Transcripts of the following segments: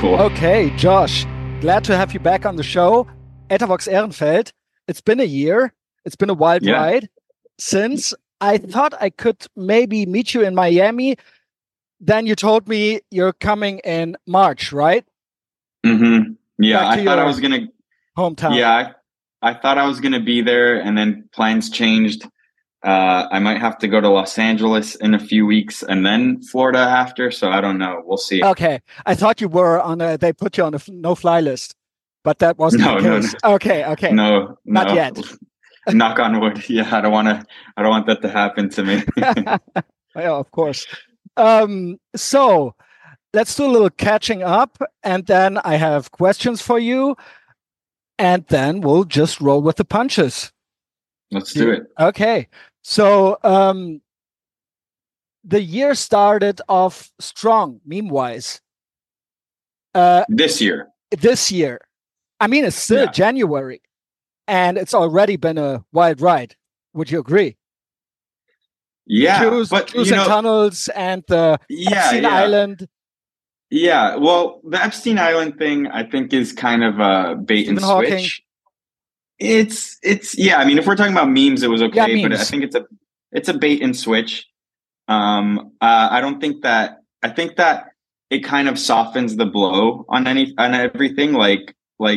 Cool. Okay, Josh, glad to have you back on the show. Etavox Ehrenfeld. It's been a year. It's been a wild ride since I thought I could maybe meet you in Miami. Then you told me you're coming in March, right? Mm-hmm. Yeah, Back to I thought I your was gonna. hometown. Yeah, I thought I was gonna be there, and then plans changed. I might have to go to Los Angeles in a few weeks, and then Florida after. So I don't know. We'll see. Okay, I thought you were on a. They put you on a no-fly list, but that wasn't the No, case. Okay, no, not yet. Knock on wood. Yeah, I don't want that to happen to me. Yeah, of course. So let's do a little catching up, and then I have questions for you, and then we'll just roll with the punches. Let's do it. Okay. So the year started off strong, meme-wise. This year. I mean, it's still January, and it's already been a wild ride. Would you agree? Yeah, Cruise and tunnels and the Epstein Island. Yeah, well, the Epstein Island thing, I think, is kind of a bait and switch. It's I mean, if we're talking about memes, it was okay, but I think it's a bait and switch. I don't think that. I think that it kind of softens the blow on everything. Like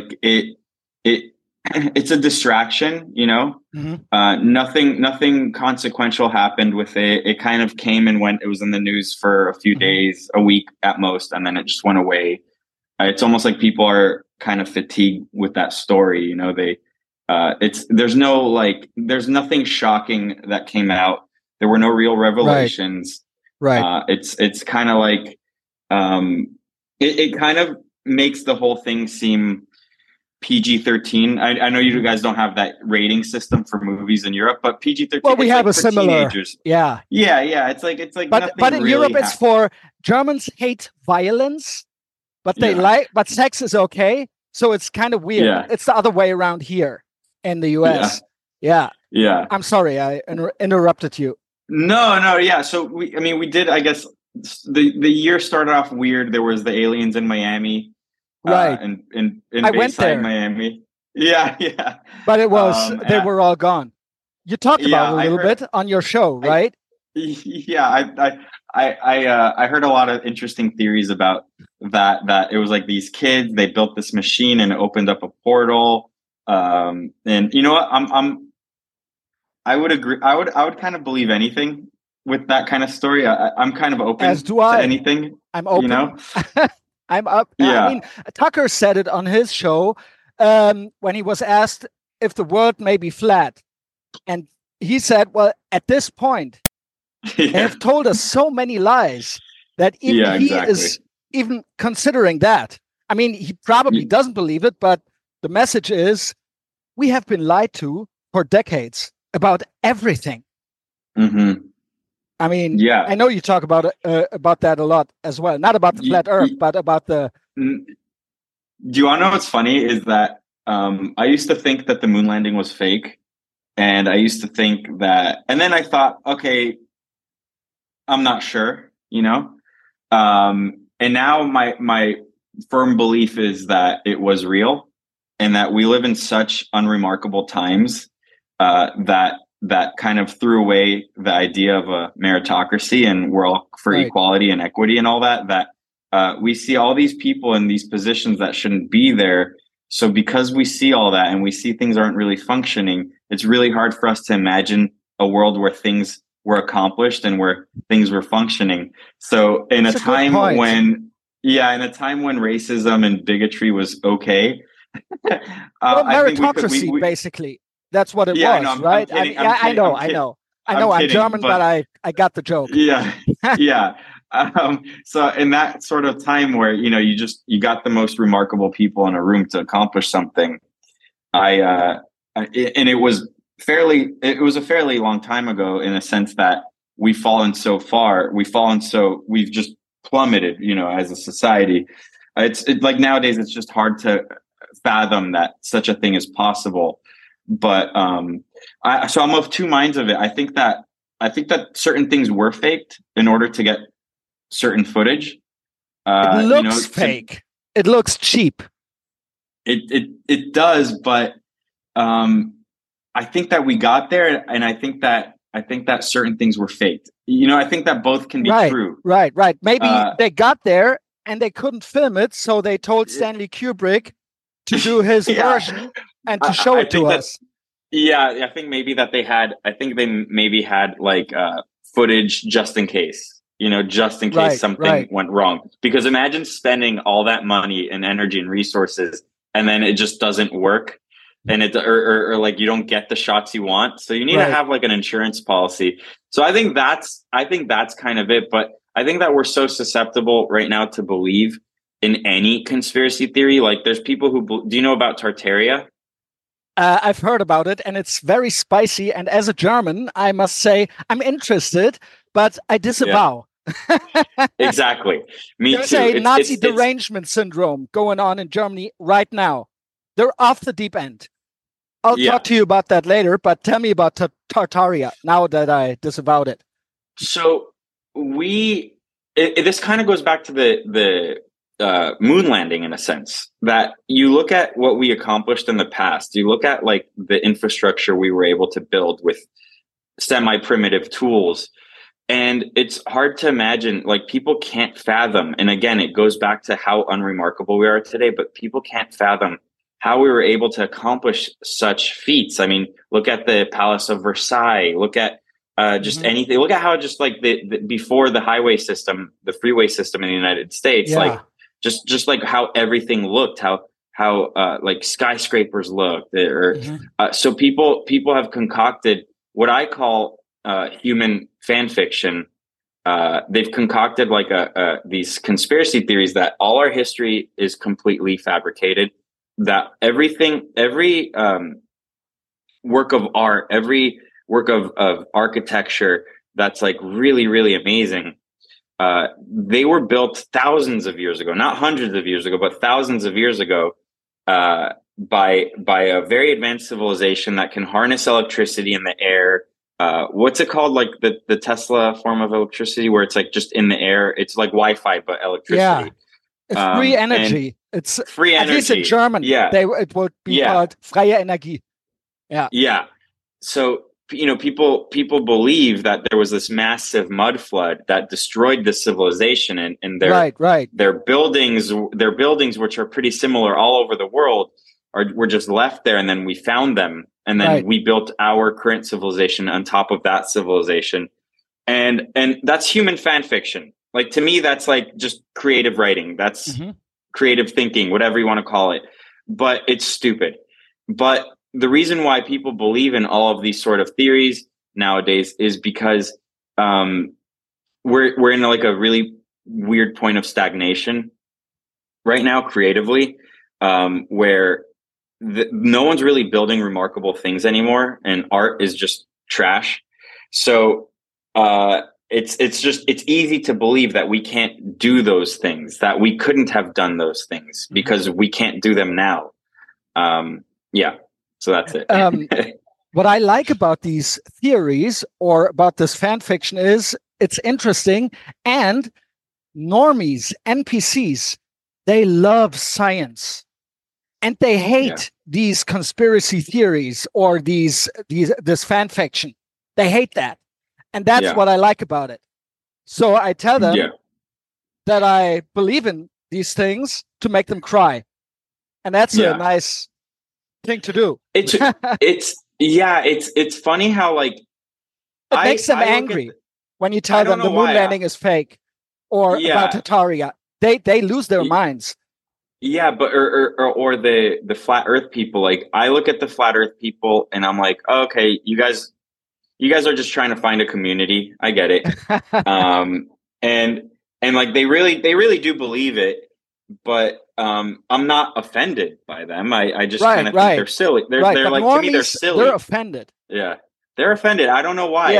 it's a distraction, you know. Mm-hmm. Nothing consequential happened with it. It kind of came and went. It was in the news for a few days, a week at most, and then it just went away. It's almost like people are kind of fatigued with that story. You know, there's nothing shocking that came out. There were no real revelations. Right. It's kind of like it kind of makes the whole thing seem PG-13. I know you guys don't have that rating system for movies in Europe, but PG-13. Well, we have a similar. Teenagers. Yeah. It's like. But in Europe, it's for Germans hate violence, but but sex is okay. So it's kind of weird. Yeah. It's the other way around here in the US. Yeah. I'm sorry, I interrupted you. No. Yeah. So we did. I guess the year started off weird. There was the aliens in Miami. Right. In I went there. Miami. Yeah. But it was they were all gone. You talked about it a little bit on your show, right? I heard a lot of interesting theories about that it was like these kids, they built this machine and it opened up a portal. And you know what? I would agree. I would kind of believe anything with that kind of story. I'm kind of open to anything. I'm open. You know? I'm up. Yeah. I mean, Tucker said it on his show when he was asked if the world may be flat. And he said, well, at this point, they have told us so many lies that even he is even considering that. I mean, he probably doesn't believe it, but the message is we have been lied to for decades about everything. Mm-hmm. I mean, I know you talk about that a lot as well. Not about the flat Earth, but about the. Do you want to know what's funny? Is that I used to think that the moon landing was fake, and I used to think that, and then I thought, okay, I'm not sure, you know, and now my firm belief is that it was real, and that we live in such unremarkable times that kind of threw away the idea of a meritocracy and we're all for equality and equity and all that we see all these people in these positions that shouldn't be there. So because we see all that and we see things aren't really functioning, it's really hard for us to imagine a world where things were accomplished and where things were functioning. So in a time when racism and bigotry was okay, meritocracy, basically. That's what it was, right? I know. I'm German, but I got the joke. Yeah. So in that sort of time where, you know, you got the most remarkable people in a room to accomplish something. It was a fairly long time ago in a sense that we've just plummeted, you know, as a society. It's like nowadays, it's just hard to fathom that such a thing is possible. But so I'm of two minds of it. I think that certain things were faked in order to get certain footage. It looks fake. it looks cheap. It does, but I think that we got there, and I think that certain things were faked. I think that both can be true. Right. Maybe they got there and they couldn't film it, so they told Stanley Kubrick to do his version and to show it to us. Yeah, I think maybe that they maybe had like footage just in case. Just in case something went wrong. Because imagine spending all that money and energy and resources, and then it just doesn't work, and or like you don't get the shots you want. So you need to have like an insurance policy. So I think that's kind of it. But I think that we're so susceptible right now to believe in any conspiracy theory. Like there's people who do you know about Tartaria? I've heard about it, and it's very spicy. And as a German, I must say I'm interested, but I disavow. Yeah. Exactly. Me There's too. There's a Nazi derangement syndrome going on in Germany right now. They're off the deep end. I'll talk to you about that later, but tell me about Tartaria now that I disavowed it. So this kind of goes back to the moon landing in a sense, that you look at what we accomplished in the past. You look at like the infrastructure we were able to build with semi-primitive tools. And it's hard to imagine, like people can't fathom. And again, it goes back to how unremarkable we are today, but people can't fathom how we were able to accomplish such feats. I mean, look at the Palace of Versailles, look at just anything. Look at how just like the before the highway system, the freeway system in the United States, like just like how everything looked, how like skyscrapers looked, so people have concocted what I call human fan fiction. They've concocted like these conspiracy theories that all our history is completely fabricated, that every work of art, every work of architecture that's like really, really amazing, they were built thousands of years ago, not hundreds of years ago, but thousands of years ago, by a very advanced civilization that can harness electricity in the air. What's it called? Like the Tesla form of electricity, where it's like just in the air. It's like Wi-Fi, but electricity. It's free energy. It's free energy. At least in German, it would be called freie Energie. Yeah. So people believe that there was this massive mud flood that destroyed this civilization, and their buildings, which are pretty similar all over the world, were just left there, and then we found them, and then we built our current civilization on top of that civilization, and that's human fan fiction. Like to me, that's like just creative writing. That's creative thinking, whatever you want to call it. But it's stupid. But the reason why people believe in all of these sort of theories nowadays is because we're in like a really weird point of stagnation right now creatively, where no one's really building remarkable things anymore, and art is just trash. So it's easy to believe that we can't do those things, that we couldn't have done those things because we can't do them now. So that's it. What I like about these theories or about this fan fiction is it's interesting, and normies, NPCs, they love science, and they hate these conspiracy theories or this fan fiction. They hate that. And that's what I like about it. So I tell them that I believe in these things to make them cry. And that's a nice thing to do. It's funny how like it makes them angry when you tell them the moon landing is fake or about Tartaria. They lose their minds. Yeah, but or the flat Earth people. Like I look at the flat Earth people and I'm like, oh, okay, you guys are just trying to find a community. I get it. And like they really do believe it, but I'm not offended by them. I just kind of think they're silly. They're like, to me, they're silly. They're offended. Yeah, they're offended. I don't know why.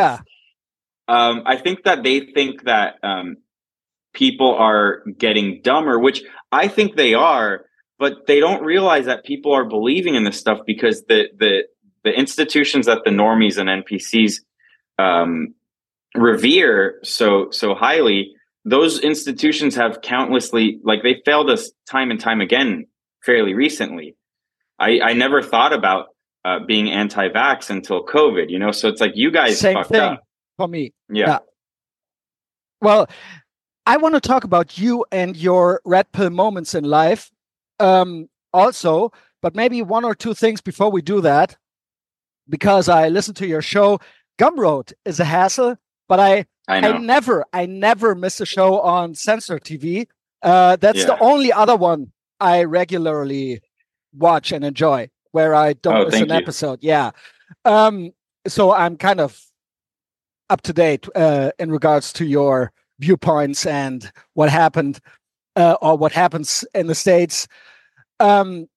I think that they think that people are getting dumber, which I think they are, but they don't realize that people are believing in this stuff because the institutions that the normies and NPCs revere so highly those institutions have countlessly, like, they failed us time and time again fairly recently. I never thought about being anti-vax until COVID, you know? So it's like, you guys Same fucked thing up. for me. Yeah. Well, I want to talk about you and your red pill moments in life also, but maybe one or two things before we do that, because I listened to your show. Gumroad is a hassle, but I never miss a show on Censor TV. That's the only other one I regularly watch and enjoy, where I don't miss an episode. Yeah. So I'm kind of up to date in regards to your viewpoints and what happened or what happens in the States. You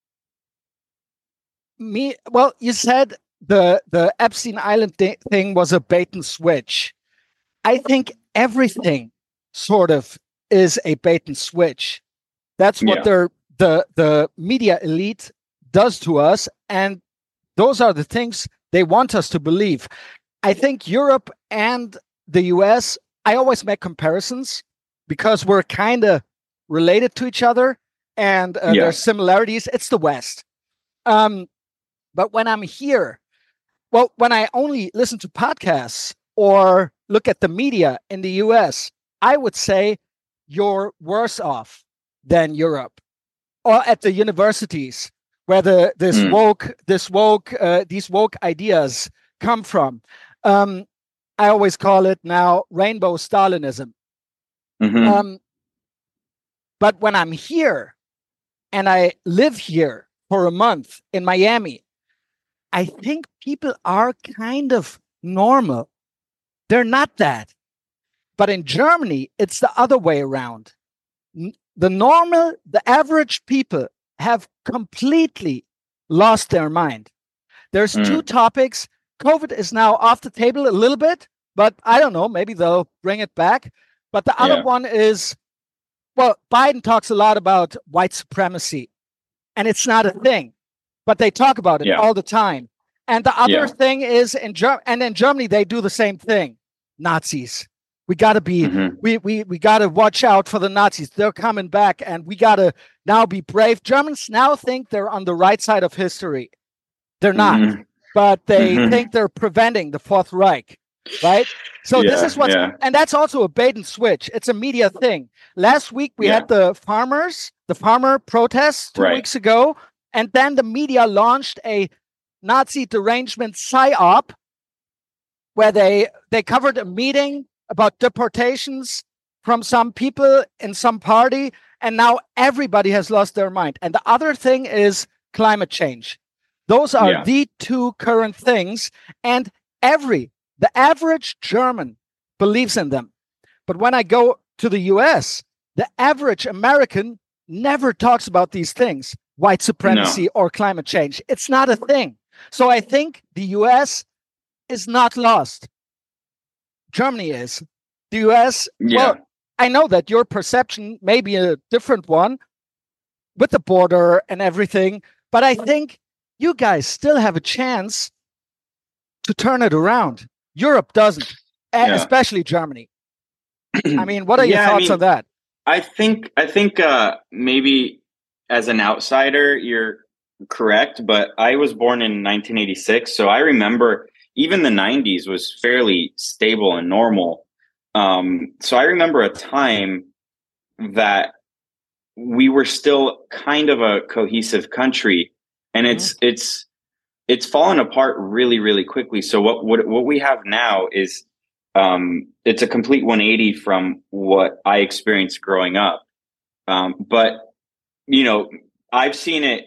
said the Epstein Island thing was a bait and switch. I think everything sort of is a bait and switch. That's what the media elite does to us, and those are the things they want us to believe. I think Europe and the US, I always make comparisons because we're kind of related to each other, and there's similarities. It's the West. But when I'm here, when I only listen to podcasts or look at the media in the US, I would say you're worse off than Europe, or at the universities where these woke ideas come from. I always call it now rainbow Stalinism. But when I'm here and I live here for a month in Miami, I think people are kind of normal. They're not that. But in Germany, it's the other way around. The average people have completely lost their mind. There's two topics. COVID is now off the table a little bit, but I don't know, maybe they'll bring it back. But the other one is, Biden talks a lot about white supremacy, and it's not a thing, but they talk about it all the time. And the other thing is in Germany, they do the same thing. Nazis. We got to be, we got to watch out for the Nazis. They're coming back, and we got to now be brave. Germans now think they're on the right side of history. They're not, but they think they're preventing the Fourth Reich, right? So this is what's, and that's also a bait and switch. It's a media thing. Last week, we had the farmer protests 2 weeks ago, and then the media launched a Nazi derangement psyop where they covered a meeting about deportations from some people in some party, and now everybody has lost their mind. And the other thing is climate change. Those are the two current things, and the average German believes in them. But when I go to the US, the average American never talks about these things, white supremacy or climate change. It's not a thing. So I think the US is not lost. Germany is. The US, I know that your perception may be a different one with the border and everything, but I think you guys still have a chance to turn it around. Europe doesn't, especially Germany. I mean, what are your thoughts on that? I think maybe as an outsider, you're correct, but I was born in 1986, so I remember even the 90s was fairly stable and normal. So I remember a time that we were still kind of a cohesive country, and it's fallen apart really, really quickly. So what we have now is it's a complete 180 from what I experienced growing up. But you know, I've seen it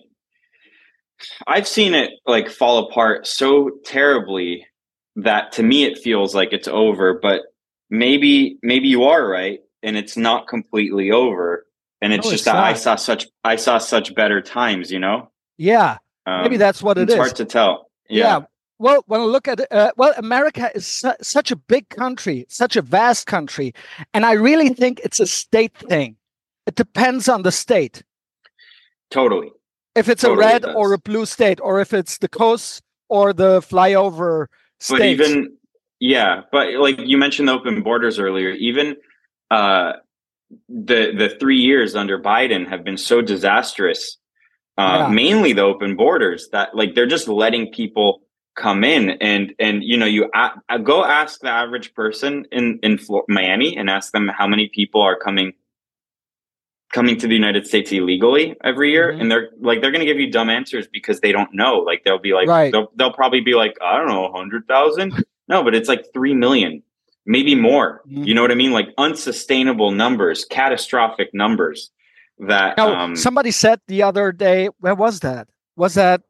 like fall apart so terribly that to me it feels like it's over. But maybe you are right, and it's not completely over. And it's just that I saw such better times, you know? Yeah. Maybe that's what it is. It's hard to tell. Yeah. Well, when I look at America is such a big country, such a vast country, and I really think it's a state thing. It depends on the state. Totally. If it's a red or a blue state, or if it's the coast or the flyover state. But like you mentioned the open borders earlier, even the 3 years under Biden have been so disastrous. Mainly the open borders, that like they're just letting people come in, and you go ask the average person in Miami and ask them how many people are coming to the United States illegally every year, and they're going to give you dumb answers because they don't know. Like they'll be like, they'll probably be like, I don't know, 100,000. No, but it's like 3 million, maybe more. You know what I mean? Like unsustainable numbers, catastrophic numbers. That somebody said the other day, where was that? What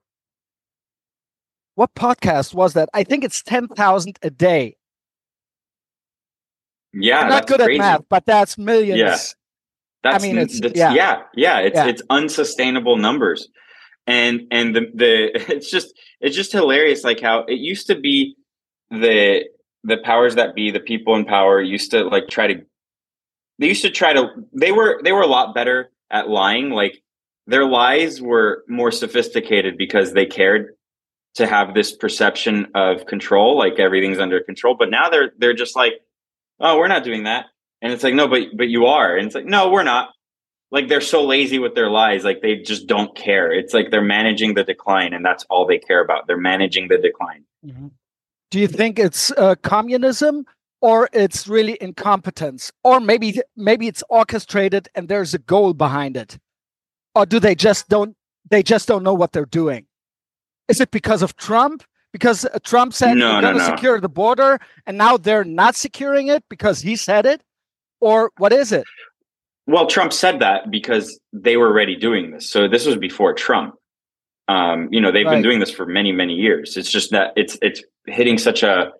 podcast was that? I think it's 10,000 a day. Yeah, I'm not good crazy. at math, but that's millions. Yeah. It's unsustainable numbers. And it's just hilarious, like how it used to be the powers that be, the people in power used to like they were a lot better at lying. Like their lies were more sophisticated because they cared to have this perception of control, like everything's under control. But now they're just like, oh, we're not doing that. And it's like, no, but you are. And it's like, no, we're not. Like they're so lazy with their lies, like they just don't care. It's like they're managing the decline, and that's all they care about. They're managing the decline. Do you think it's communism, or it's really incompetence, or maybe it's orchestrated and there's a goal behind it, or do they just don't know what they're doing? Is it because of Trump? Because Trump said we're going to secure the border, and now they're not securing it because he said it, or what is it? Well, Trump said that because they were already doing this. So this was before Trump. They've been doing this for many, many years. It's just that it's hitting such a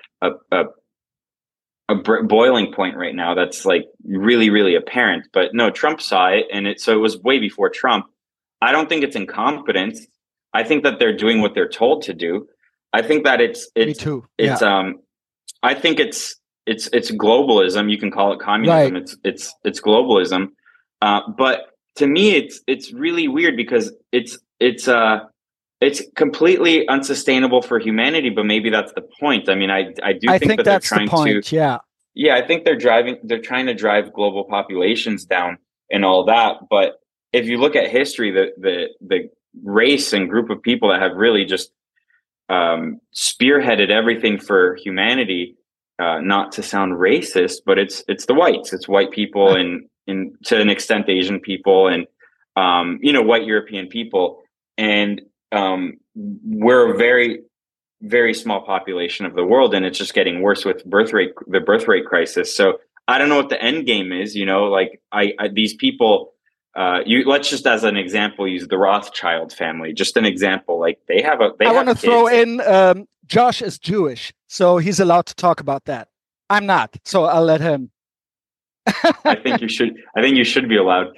boiling point right now that's like really, really apparent. But no, Trump saw it, and it was way before Trump. I don't think it's incompetence. I think that they're doing what they're told to do. I think that it's Me too. I think it's globalism. You can call it communism. Right. It's globalism. But to me, it's really weird because it's completely unsustainable for humanity. But maybe that's the point. I mean, I think that that's they're trying the point. to. Yeah, I think they're trying to drive global populations down and all that. But if you look at history, the race and group of people that have really just spearheaded everything for humanity. Not to sound racist, but it's the whites. It's white people and to an extent Asian people and white European people. And we're a very, very small population of the world, and it's just getting worse with the birth rate crisis. So I don't know what the end game is. Like these people. Let's just as an example use the Rothschild family. Just an example. Like I want to throw in. Josh is Jewish, so he's allowed to talk about that. I'm not, so I'll let him. I think you should be allowed.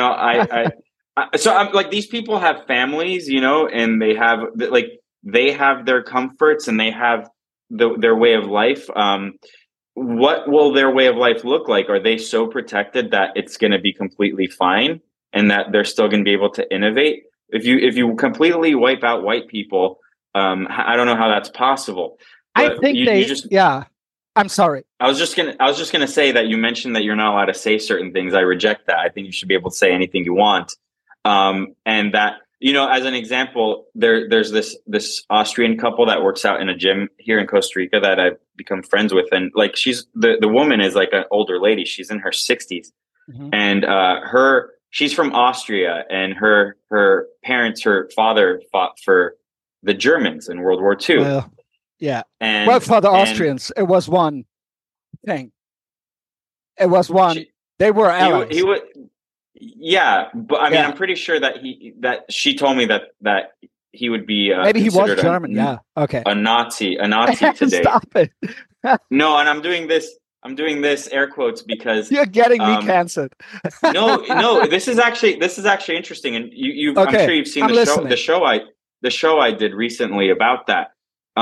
So I'm like, these people have families, and they have their comforts and they have their way of life. What will their way of life look like? Are they so protected that it's going to be completely fine and that they're still going to be able to innovate? If you completely wipe out white people, I don't know how that's possible. But I think I'm sorry. I was just gonna say that you mentioned that you're not allowed to say certain things. I reject that. I think you should be able to say anything you want. And that, as an example, there's this Austrian couple that works out in a gym here in Costa Rica that I've become friends with, and like she's the woman is like an older lady. She's in her 60s, and she's from Austria, and her parents, her father fought for the Germans in World War II. Well, yeah. For the Austrians, it was one thing. It was one. They were allies. He would. Yeah, but I mean, I'm pretty sure that she told me that he would be maybe he was German. A Nazi today. Stop it. No, and I'm doing this air quotes because you're getting me canceled. no, this is actually interesting, and I'm sure you've seen the show I did recently about that.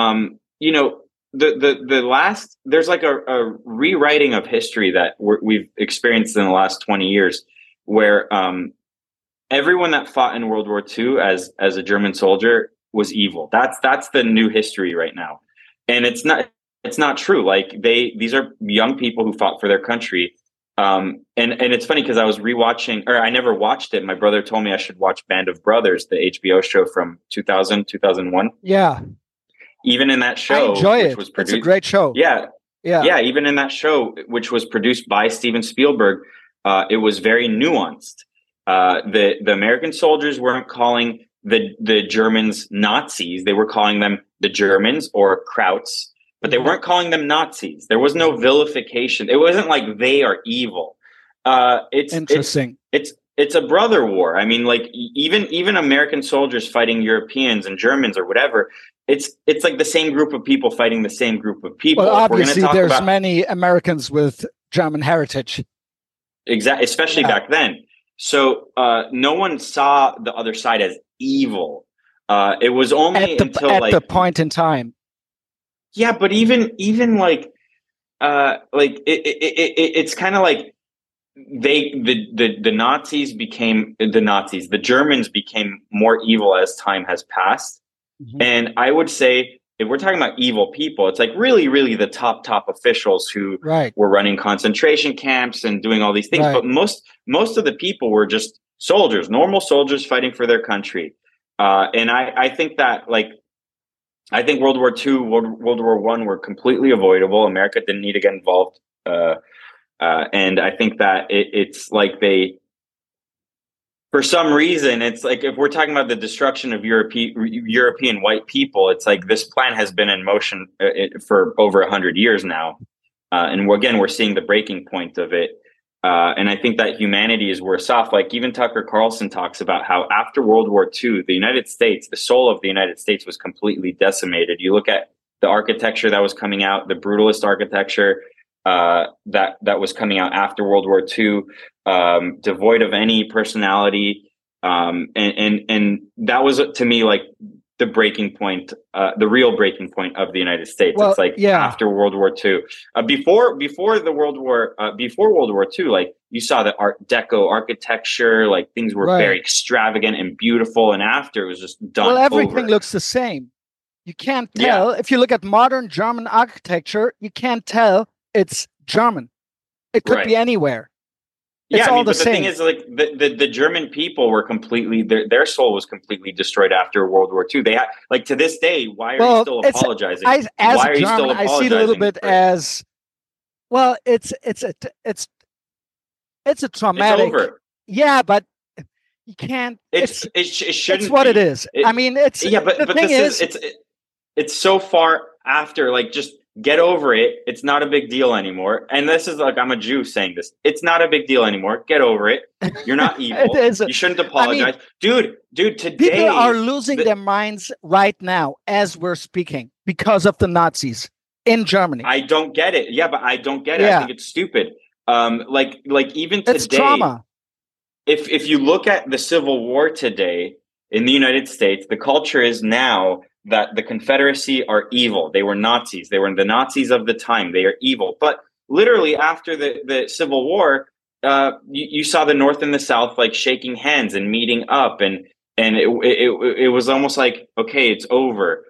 The last, there's like a rewriting of history that we've experienced in the last 20 years, where everyone that fought in World War II as a German soldier was evil. That's the new history right now, and it's not true. Like these are young people who fought for their country, And it's funny because I was rewatching, or I never watched it. My brother told me I should watch Band of Brothers, the HBO show from 2000, 2001. Yeah. Even in that I show, enjoy which it. was It's a produced, great show. yeah, Yeah. even in that show, which was produced by Steven Spielberg, it was very nuanced. The American soldiers weren't calling the Germans Nazis; they were calling them the Germans or Krauts, but they weren't calling them Nazis. There was no vilification. It wasn't like they are evil. It's Interesting. It's a brother war. I mean, like even American soldiers fighting Europeans and Germans or whatever. It's like the same group of people fighting the same group of people. Well, obviously, there's many Americans with German heritage. Exactly, especially back then. So no one saw the other side as evil. It was only at the point in time. Yeah, but even like it's kind of like the Nazis became the Nazis. The Germans became more evil as time has passed. And I would say, if we're talking about evil people, it's like really the top officials who were running concentration camps and doing all these things. But most of the people were just soldiers, normal soldiers fighting for their country. And I think that, like, I think World War II, World War I were completely avoidable. America didn't need to get involved. And I think that it's like for some reason, it's like, if we're talking about the destruction of European white people, it's like this plan has been in motion for over 100 years now. And we're seeing the breaking point of it. And I think that humanity is worse off. Like, even Tucker Carlson talks about how after World War II, the United States, the soul of the United States was completely decimated. You look at the architecture that was coming out, the brutalist architecture that was coming out after World War II, devoid of any personality, and that was, to me, like the breaking point, the real breaking point of the United States. Well, it's like after World War II, before World War II, like, you saw the Art Deco architecture, like things were very extravagant and beautiful, and after, it was just done. Well, everything looks the same. You can't tell if you look at modern German architecture. You can't tell it's German. It could be anywhere. It's all the same. The thing is, like, the German people were completely, their soul was completely destroyed after World War II. They had, like, to this day, why are you still apologizing? Why are you still apologizing? I see it a little bit as, well, it's a traumatic. It's over. Yeah, but you can't. It shouldn't. It's what it is. I mean, it's but the thing is, it's so far after. Like, just get over it. It's not a big deal anymore. And this is, like, I'm a Jew saying this. It's not a big deal anymore. Get over it. You're not evil. You shouldn't apologize. I mean, dude, today people are losing their minds right now as we're speaking because of the Nazis in Germany. I don't get it. Yeah, but I don't get it. I think it's stupid. Like even today, it's trauma. If you look at the Civil War today in the United States, the culture is now that the Confederacy are evil. They were Nazis. They were the Nazis of the time. They are evil. But literally after the Civil War, you saw the North and the South, like, shaking hands and meeting up, and it was almost like, okay, it's over.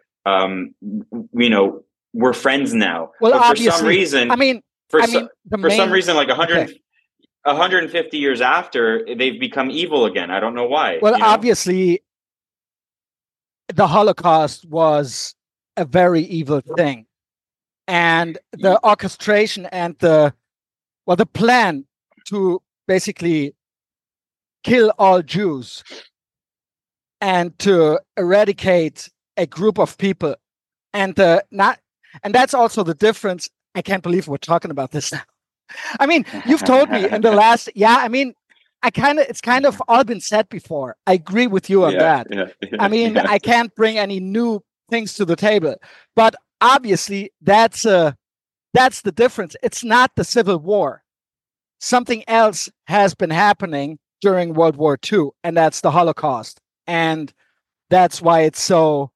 We're friends now. Well, but obviously, for some reason, some reason, like 150 years after, they've become evil again. I don't know why. Well, obviously, the Holocaust was a very evil thing, and the orchestration and the plan to basically kill all Jews and to eradicate a group of people, and that's also the difference. I can't believe we're talking about this now. I mean, you've told me in the last, I mean, it's kind of all been said before. I agree with you on that. I mean, I can't bring any new things to the table, but obviously that's the difference. It's not the Civil War. Something else has been happening during World War II, and that's the Holocaust. And that's why it's such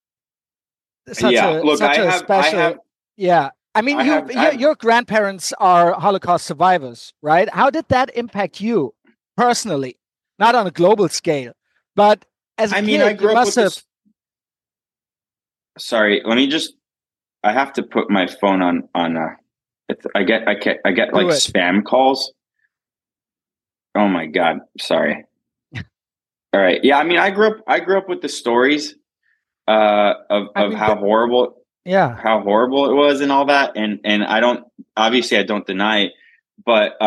a special. I mean, your grandparents are Holocaust survivors, right? How did that impact you personally? Not on a global scale, but as a kid, I grew you up must with have. Sorry, I have to put my phone on. I get like spam calls. Oh my God. Sorry. All right. Yeah. I mean, I grew up with the stories, of But yeah, how horrible it was and all that. And obviously I don't deny it, but,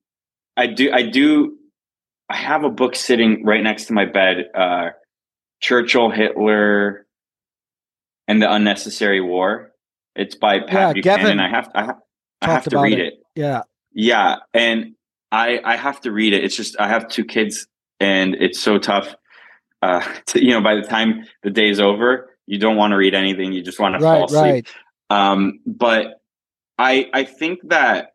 I have a book sitting right next to my bed, Churchill, Hitler, and the Unnecessary War. It's by Pat Buchanan. Gavin I have talked to about read it. it. Yeah. Yeah, and I have to read it. It's just I have two kids, and it's so tough. By the time the day's over, you don't want to read anything. You just want to fall asleep. But I think that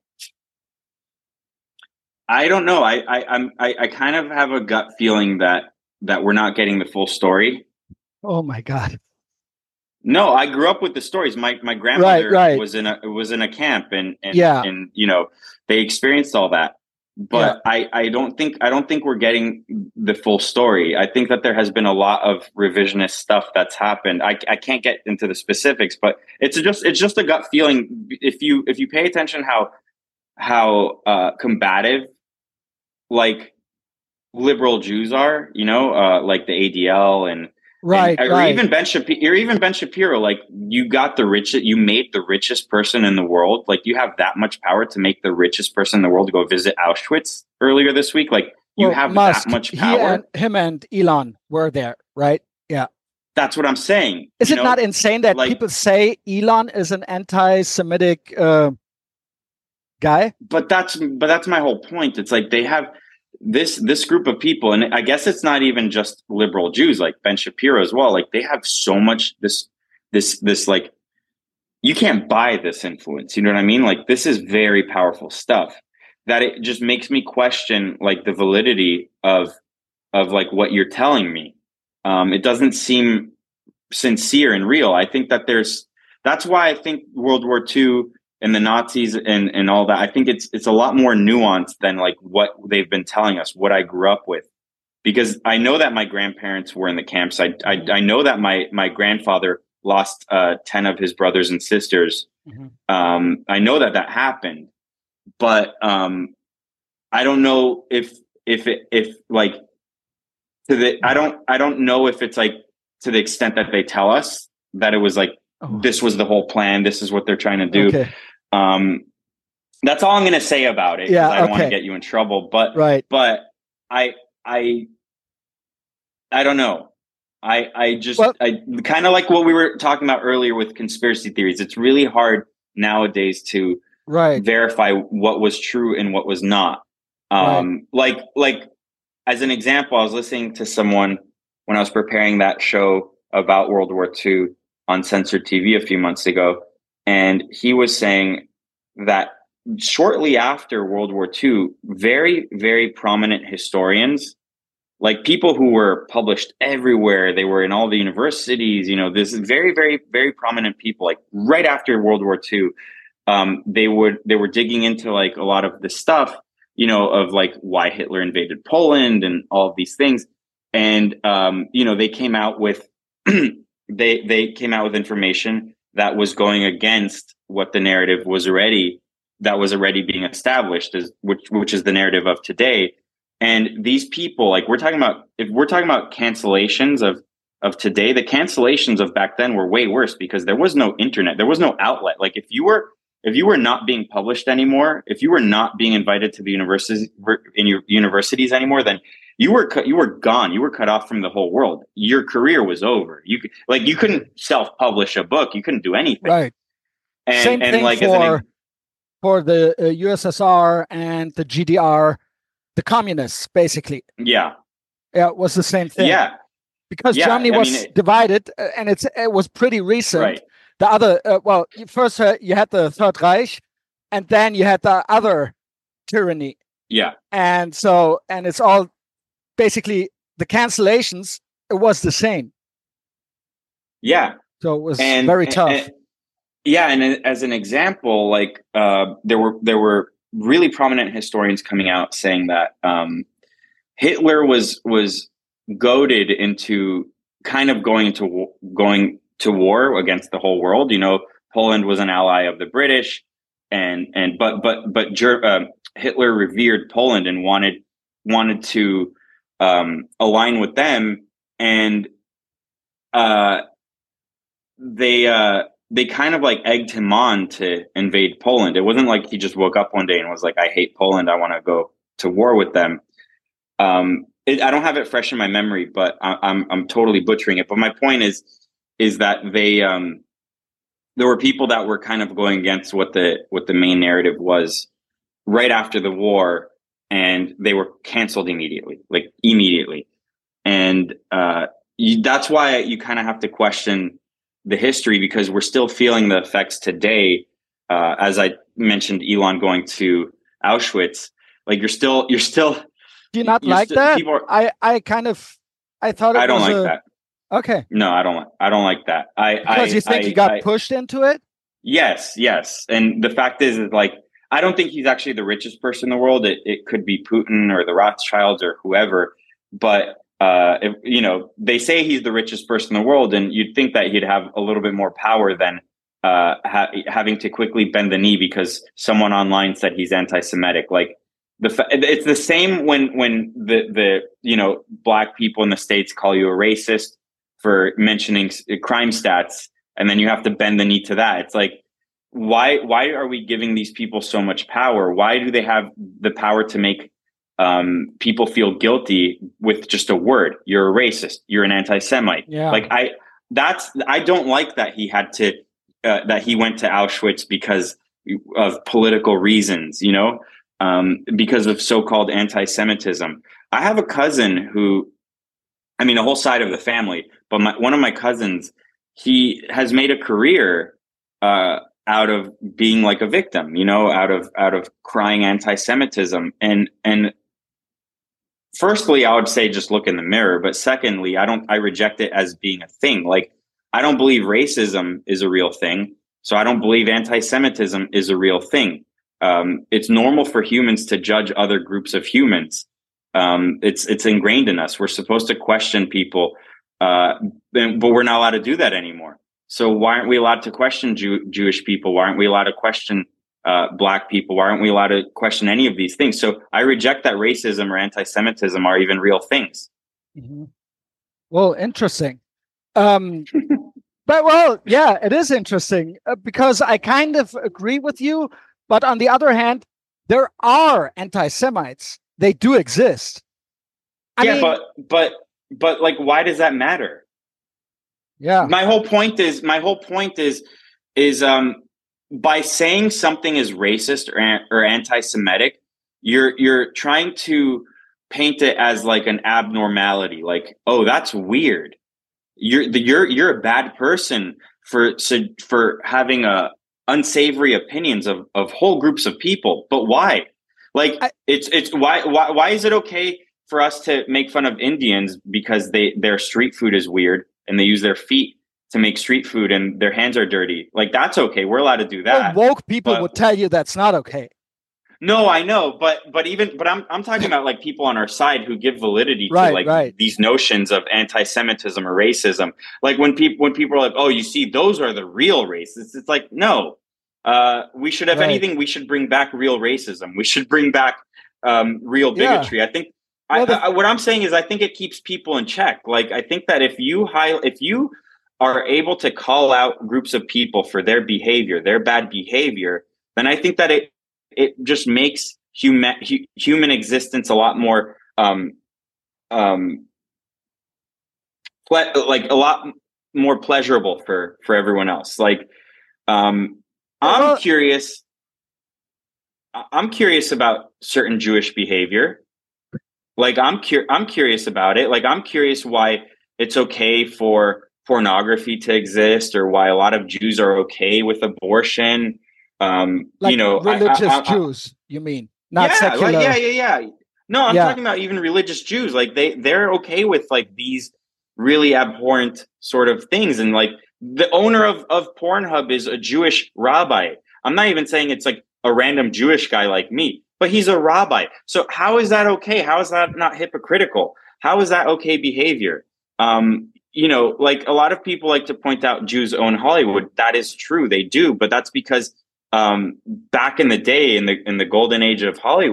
I don't know. I kind of have a gut feeling that we're not getting the full story. Oh my God. No, I grew up with the stories. My grandmother was in a camp, and they experienced all that. But I don't think we're getting the full story. I think that there has been a lot of revisionist stuff that's happened. I can't get into the specifics, but it's just a gut feeling. If you pay attention how combative like liberal Jews are, like the ADL or even Ben Shapiro, like you made the richest person in the world. Like you have that much power to make the richest person in the world go visit Auschwitz earlier this week. Like you have Musk, that much power. Him and Elon were there, right? Yeah. That's what I'm saying. Is it not insane that people say Elon is an anti-Semitic guy? But that's my whole point. It's like they have this group of people, and I guess it's not even just liberal Jews, like Ben Shapiro as well. Like they have so much this like you can't buy this influence. You know what I mean? Like this is very powerful stuff that it just makes me question like the validity of like what you're telling me. It doesn't seem sincere and real. I think that that's why I think World War II and the Nazis and all that, I think it's a lot more nuanced than like what they've been telling us, what I grew up with. Because I know that my grandparents were in the camps. I know that my grandfather lost 10 of his brothers and sisters. Mm-hmm. I know that happened, but I don't know if like I don't know if it's like to the extent that they tell us that it was like this was the whole plan. This is what they're trying to do. Okay. That's all I'm going to say about it. Yeah, I don't want to get you in trouble, but I don't know. I kind of like what we were talking about earlier with conspiracy theories. It's really hard nowadays to verify what was true and what was not. Like as an example, I was listening to someone when I was preparing that show about World War II on censored TV a few months ago. And he was saying that shortly after World War II, very, very prominent historians, like people who were published everywhere, they were in all the universities, this is very, very, very prominent people, like right after World War II, they were digging into like a lot of the stuff, of like why Hitler invaded Poland and all of these things. And, they came out with, they came out with information that was going against what the narrative was already being established, which is the narrative of today. And these people, like if we're talking about cancellations of today, the cancellations of back then were way worse because there was no internet, there was no outlet. Like if you were not being published anymore, if you were not being invited to the universities anymore, then you were gone. You were cut off from the whole world. Your career was over. You couldn't self-publish a book. You couldn't do anything. Right. Same thing like for the USSR and the GDR, the communists, basically. Yeah. Yeah, it was the same thing. Yeah. Because Germany was divided, and it was pretty recent. Right. The other, first you had the Third Reich, and then you had the other tyranny. Yeah. And it's all basically the cancellations. It was the same. Yeah. So it was very tough. And as an example, like there were really prominent historians coming out saying that Hitler was goaded into kind of going to war against the whole world. Poland was an ally of the British, but Hitler revered Poland and wanted wanted to align with them, and they kind of like egged him on to invade Poland. It wasn't like he just woke up one day and was like, I hate Poland, I want to go to war with them. I don't have it fresh in my memory, but I'm totally butchering it. But my point is that there were people that were kind of going against what the main narrative was right after the war, and they were canceled immediately. And that's why you kind of have to question the history, because we're still feeling the effects today. As I mentioned, Elon going to Auschwitz, like you're still. Do you not like that? I thought I don't like that. Okay. No, I don't like that. Because you think he got pushed into it? Yes. And the fact is like, I don't think he's actually the richest person in the world. It could be Putin or the Rothschilds or whoever, but if, they say he's the richest person in the world, and you'd think that he'd have a little bit more power than having to quickly bend the knee because someone online said he's anti-Semitic. Like it's the same when the black people in the States call you a racist for mentioning crime stats, and then you have to bend the knee to that. It's like, why are we giving these people so much power? Why do they have the power to make people feel guilty with just a word? You're a racist. You're an anti-Semite. Yeah. Like I don't like that he had to that he went to Auschwitz because of political reasons. Because of so-called anti-Semitism. I have a cousin who, a whole side of the family, but one of my cousins, he has made a career out of being like a victim, out of crying anti-Semitism. And firstly, I would say just look in the mirror. But secondly, I reject it as being a thing. Like, I don't believe racism is a real thing. So I don't believe anti-Semitism is a real thing. It's normal for humans to judge other groups of humans. It's ingrained in us. We're supposed to question people, but we're not allowed to do that anymore. So why aren't we allowed to question Jewish people? Why aren't we allowed to question Black people? Why aren't we allowed to question any of these things? So I reject that racism or anti-Semitism are even real things. Mm-hmm. Well, interesting. Yeah, it is interesting because I kind of agree with you. But on the other hand, there are anti-Semites. They do exist. I mean, but like, why does that matter? Yeah. My whole point is by saying something is racist or anti-Semitic, you're trying to paint it as like an abnormality. Like, oh, that's weird. You're a bad person for having unsavory opinions of whole groups of people. But why? Like, why is it okay for us to make fun of Indians because their street food is weird and they use their feet to make street food and their hands are dirty? Like, that's okay. We're allowed to do that. Well, woke people would tell you that's not okay. No, I know, but I'm talking about like people on our side who give validity to these notions of anti-Semitism or racism. Like when people are like, oh, you see, those are the real racists. It's like, no, we should, if anything, we should bring back real racism. We should bring back real bigotry. Yeah. I think what I'm saying is I think it keeps people in check. Like, I think that if you are able to call out groups of people for their behavior, their bad behavior, then I think that it just makes human existence a lot more like a lot more pleasurable for everyone else. Like, I'm curious about certain Jewish behavior. Like, I'm curious about it. Like, I'm curious why it's okay for pornography to exist, or why a lot of Jews are okay with abortion. Like, religious Jews, you mean? Not secular. Yeah. No, I'm talking about even religious Jews. Like, they're okay with like these really abhorrent sort of things. And like, the owner of Pornhub is a Jewish rabbi. I'm not even saying it's like a random Jewish guy like me, but he's a rabbi. So how is that okay? How is that not hypocritical? How is that okay behavior? Like, a lot of people like to point out Jews own Hollywood. That is true. They do. But that's because back in the day, in the golden age of Hollywood,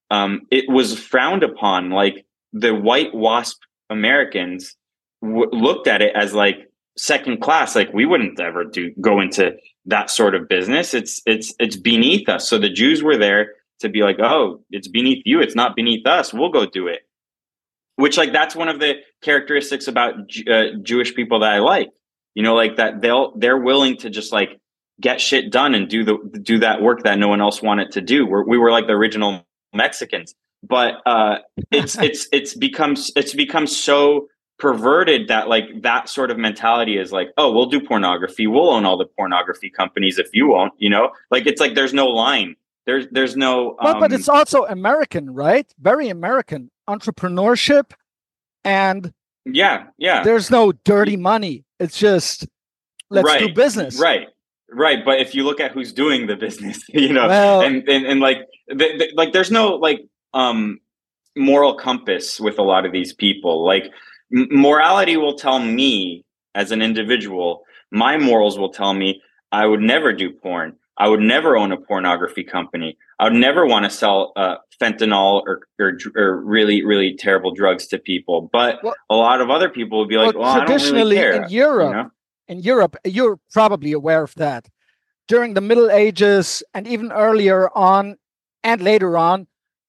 it was frowned upon. Like the white WASP Americans looked at it as like second class. Like we wouldn't ever go into that sort of business. It's beneath us. So the Jews were there to be like, oh, it's beneath you. It's not beneath us. We'll go do it. Which, like, that's one of the characteristics about Jewish people that I like. You know, like that they're willing to just like get shit done and do that work that no one else wanted to do. We were like the original Mexicans, but it's become so perverted that like that sort of mentality is like, oh, we'll do pornography. We'll own all the pornography companies if you won't. You know, like it's like there's no line. There's no. But it's also American, right? Very American entrepreneurship, and yeah. There's no dirty money. It's just let's do business, right. But if you look at who's doing the business, you know, and like like there's no like moral compass with a lot of these people. Like morality will tell me as an individual, my morals will tell me I would never do porn. I would never own a pornography company. I would never want to sell fentanyl or really, really terrible drugs to people. But a lot of other people would be like, well, traditionally I don't really care. In Europe, you're probably aware of that. During the Middle Ages and even earlier on and later on,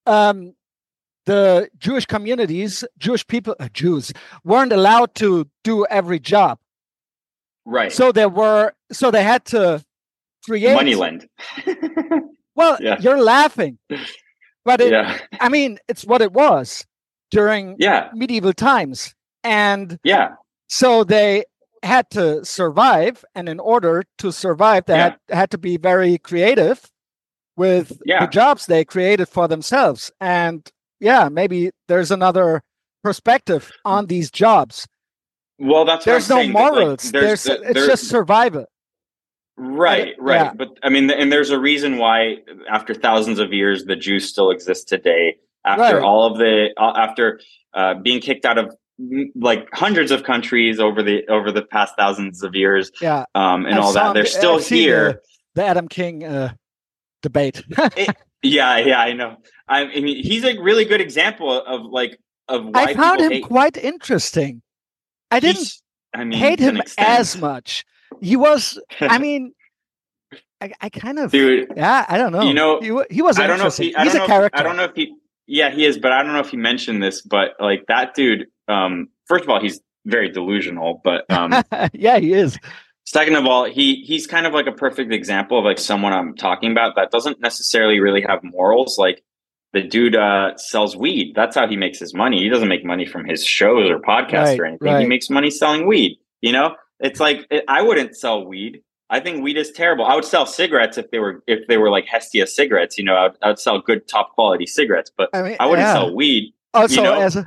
the Jewish communities, Jews weren't allowed to do every job. Right. So they had to create Moneyland. Well, you're laughing, but I mean, it's what it was during medieval times, and so they had to survive, and in order to survive, they had to be very creative with the jobs they created for themselves. And maybe there's another perspective on these jobs. Well, that's there's no morals. Like, it's just survival. Right. Yeah. But I mean, and there's a reason why after thousands of years, the Jews still exist today. After all of after being kicked out of like hundreds of countries over the past thousands of years, and all that, they're still here. The Adam King debate. I know. I mean, he's a really good example of why I found him quite interesting. I didn't hate him as much. He was, I mean, I kind of, I don't know. You know, he was interesting. He's a character. I don't know if he is, but I don't know if he mentioned this, but like that dude, first of all, he's very delusional, but yeah, he is. Second of all, he's kind of like a perfect example of like someone I'm talking about that doesn't necessarily really have morals. Like the dude sells weed. That's how he makes his money. He doesn't make money from his shows or podcasts or anything. He makes money selling weed, you know? It's like I wouldn't sell weed. I think weed is terrible. I would sell cigarettes if they were like Hestia cigarettes. You know, I would sell good top quality cigarettes, but I wouldn't sell weed. Also,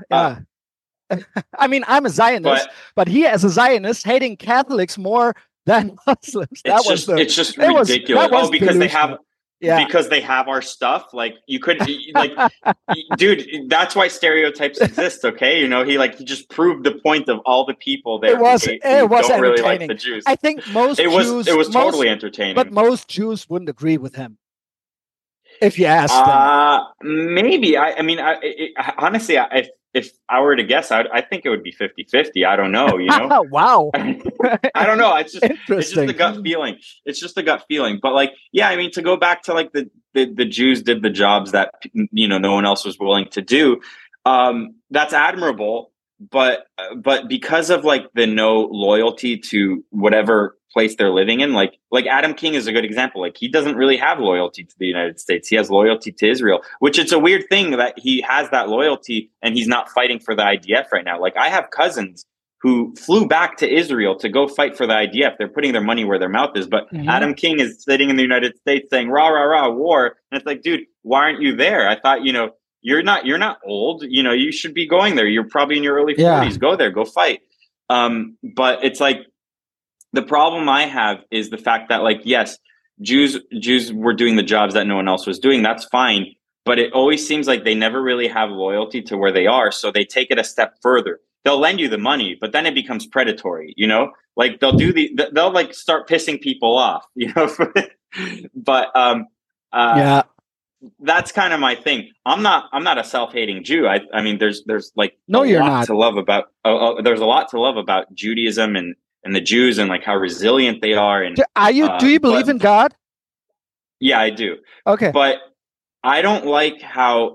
I mean, I'm a Zionist, but he, as a Zionist, hating Catholics more than Muslims. It's just ridiculous. Because they have. Yeah. Because they have our stuff. Like you could like, dude, that's why stereotypes exist. Okay. You know, he just proved the point of all the people there. It was don't really like the Jews. I think it was totally entertaining, but most Jews wouldn't agree with him. If you ask them. Maybe. Honestly, if I were to guess, I think it would be 50-50. I don't know, you know? Wow. I don't know. It's just the gut feeling. It's just the gut feeling. But like, I mean, to go back to like the Jews did the jobs that, you know, no one else was willing to do. That's admirable. But because of like the no loyalty to whatever place they're living in, like Adam King is a good example. Like he doesn't really have loyalty to the United States. He has loyalty to Israel, which it's a weird thing that he has that loyalty and he's not fighting for the IDF right now. Like I have cousins who flew back to Israel to go fight for the IDF. They're putting their money where their mouth is. But Adam King is sitting in the United States saying, rah, rah, rah, war. And it's like, dude, why aren't you there? I thought, you know, you're not old. You know, you should be going there. You're probably in your early 40s. Go there, go fight. But it's like, the problem I have is the fact that, like, yes, Jews were doing the jobs that no one else was doing. That's fine. But it always seems like they never really have loyalty to where they are. So they take it a step further. They'll lend you the money, but then it becomes predatory, you know, like they'll like start pissing people off, you know, but, that's kind of my thing. I'm not a self-hating Jew. I mean, there's like No, you're lot not. to love about. There's a lot to love about Judaism and the Jews and like how resilient they are. And Do you believe in God? Yeah, I do. Okay, but I don't like how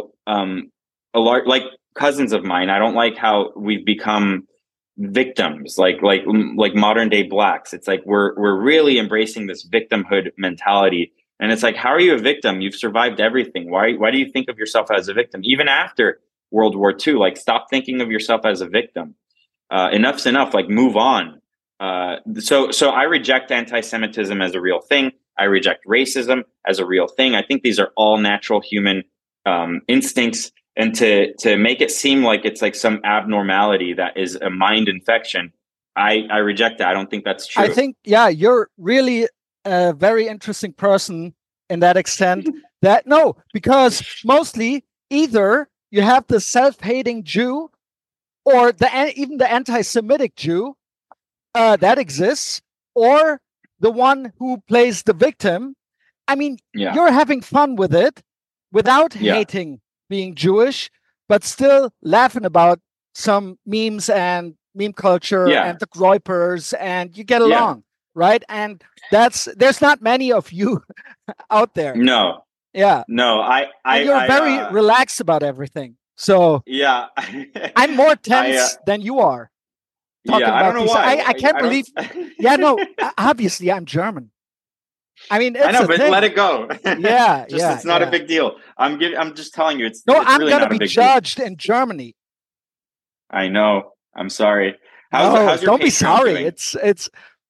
a large like cousins of mine. I don't like how we've become victims, like modern day blacks. It's like we're really embracing this victimhood mentality, and it's like, how are you a victim? You've survived everything. Why do you think of yourself as a victim even after World War II? Like, stop thinking of yourself as a victim. Enough's enough. Like, move on. So I reject anti-Semitism as a real thing. I reject racism as a real thing. I think these are all natural human instincts. And to make it seem like it's like some abnormality that is a mind infection, I reject that. I don't think that's true. I think, yeah, you're really a very interesting person in that extent. Because mostly either you have the self-hating Jew or even the anti-Semitic Jew that exists, or the one who plays the victim. I mean, you're having fun with it without hating being Jewish, but still laughing about some memes and meme culture and the Groypers, and you get along, right? And there's not many of you out there. No. Yeah. No, you're very relaxed about everything. So yeah, I'm more tense than you are. I don't know why. I can't believe. Obviously I'm German. I mean, it's I know, but let it go. It's not a big deal. I'm just telling you, it's I'm really going to be judged in Germany. I know. I'm sorry. How's your don't be sorry. Doing? It's.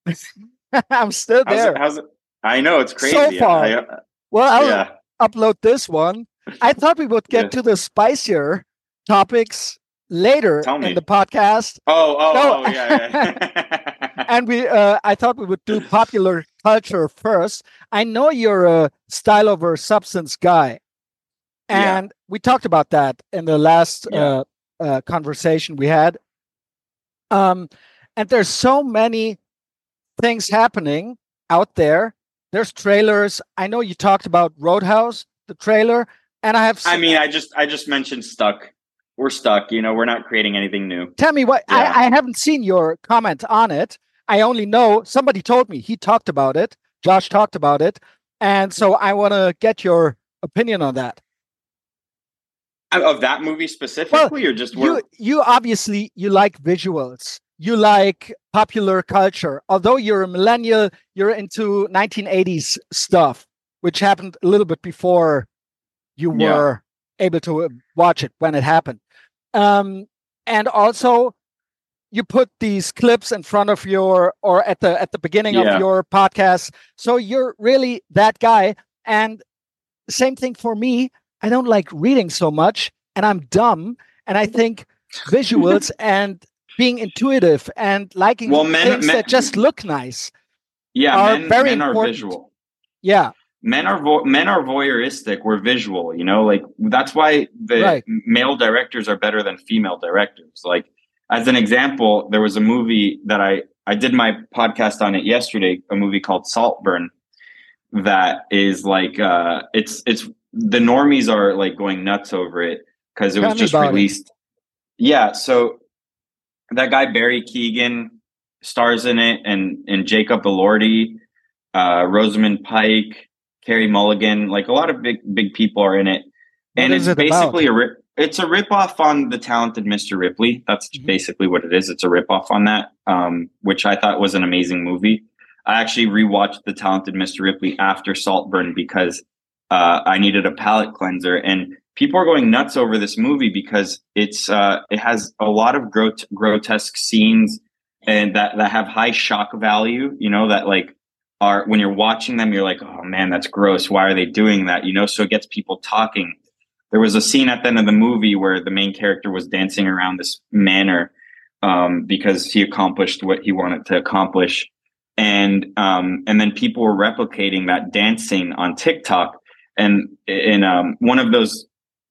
I'm still there. How's it? I know, it's crazy. So far. I'll upload this one. I thought we would get to the spicier topics later in the podcast. Yeah. And I thought we would do popular culture first. I know you're a style over substance guy, and we talked about that in the last conversation we had. And there's so many things happening out there. There's trailers. I know you talked about Roadhouse, the trailer, and I just mentioned Stuck. We're stuck. We're not creating anything new. Tell me what. I haven't seen your comment on it. I only know somebody told me he talked about it. Josh talked about it. And so I want to get your opinion on that. Of that movie specifically, or just you obviously you like visuals. You like popular culture. Although you're a millennial, you're into 1980s stuff, which happened a little bit before you were able to watch it when it happened. And also you put these clips in front of or at the beginning of your podcast. So you're really that guy. And same thing for me. I don't like reading so much, and I'm dumb. And I think visuals and being intuitive and liking things that just look nice are very important. Are visual. Yeah. Men are voyeuristic. We're visual, like that's why the male directors are better than female directors. Like, as an example, there was a movie that I did my podcast on it yesterday, a movie called Saltburn, that is like, it's the normies are like going nuts over it because it was just released. Yeah. So that guy, Barry Keoghan, stars in it, and Jacob Elordi, Rosamund Pike, Carey Mulligan, like a lot of big people are in it. And it's basically it's a ripoff on The Talented Mr. Ripley. That's basically what it is. It's a ripoff on that, which I thought was an amazing movie. I actually rewatched The Talented Mr. Ripley after Saltburn because I needed a palate cleanser. And people are going nuts over this movie because it has a lot of grotesque scenes and that have high shock value, that like are, when you're watching them, you're like, oh man, that's gross. Why are they doing that? So it gets people talking. There was a scene at the end of the movie where the main character was dancing around this manor because he accomplished what he wanted to accomplish. And then people were replicating that dancing on TikTok. And in one of those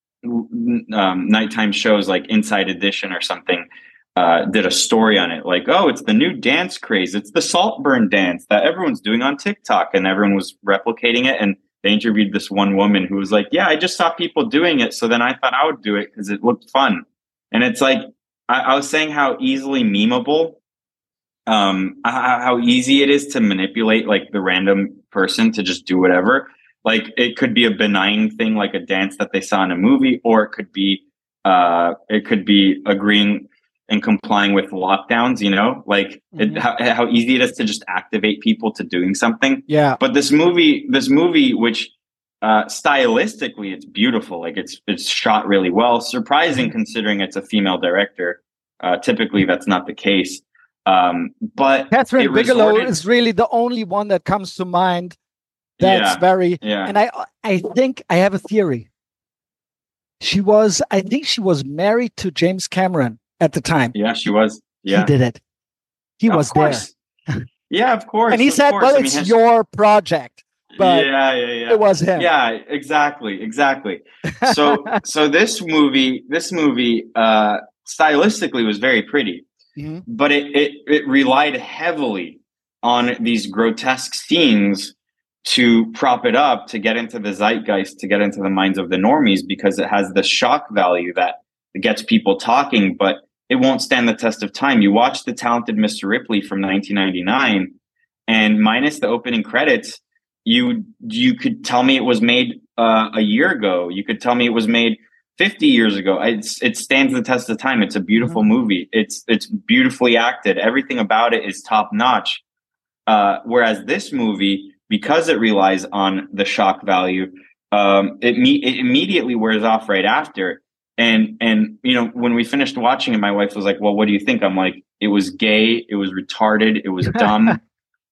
nighttime shows like Inside Edition or something, did a story on it. Like, oh, it's the new dance craze. It's the Saltburn dance that everyone's doing on TikTok. And everyone was replicating it. And they interviewed this one woman who was like, yeah, I just saw people doing it, so then I thought I would do it because it looked fun. And it's like, I was saying how easily memeable, how easy it is to manipulate like the random person to just do whatever. Like it could be a benign thing like a dance that they saw in a movie, or it could be agreeing and complying with lockdowns, you know, like how easy it is to just activate people to doing something. Yeah. But this movie, which stylistically it's beautiful, like it's shot really well, surprising considering it's a female director. Typically that's not the case. But Catherine Bigelow is really the only one that comes to mind. That's and I think I have a theory. I think she was married to James Cameron at the time. Yeah, she was. Yeah. He did it. He was there. Yeah, of course. And he said, well, it's your project. But it was him. Yeah, exactly. So this movie stylistically was very pretty, but it relied heavily on these grotesque scenes to prop it up, to get into the zeitgeist, to get into the minds of the normies, because it has the shock value that gets people talking, but it won't stand the test of time. You watch The Talented Mr. Ripley from 1999, and minus the opening credits, you could tell me it was made a year ago. You could tell me it was made 50 years ago. It stands the test of time. It's a beautiful movie. It's beautifully acted. Everything about it is top notch. Whereas this movie, because it relies on the shock value, it immediately wears off right after. And you know, when we finished watching it, my wife was like, "Well, what do you think?" I'm like, "It was gay. It was retarded. It was dumb."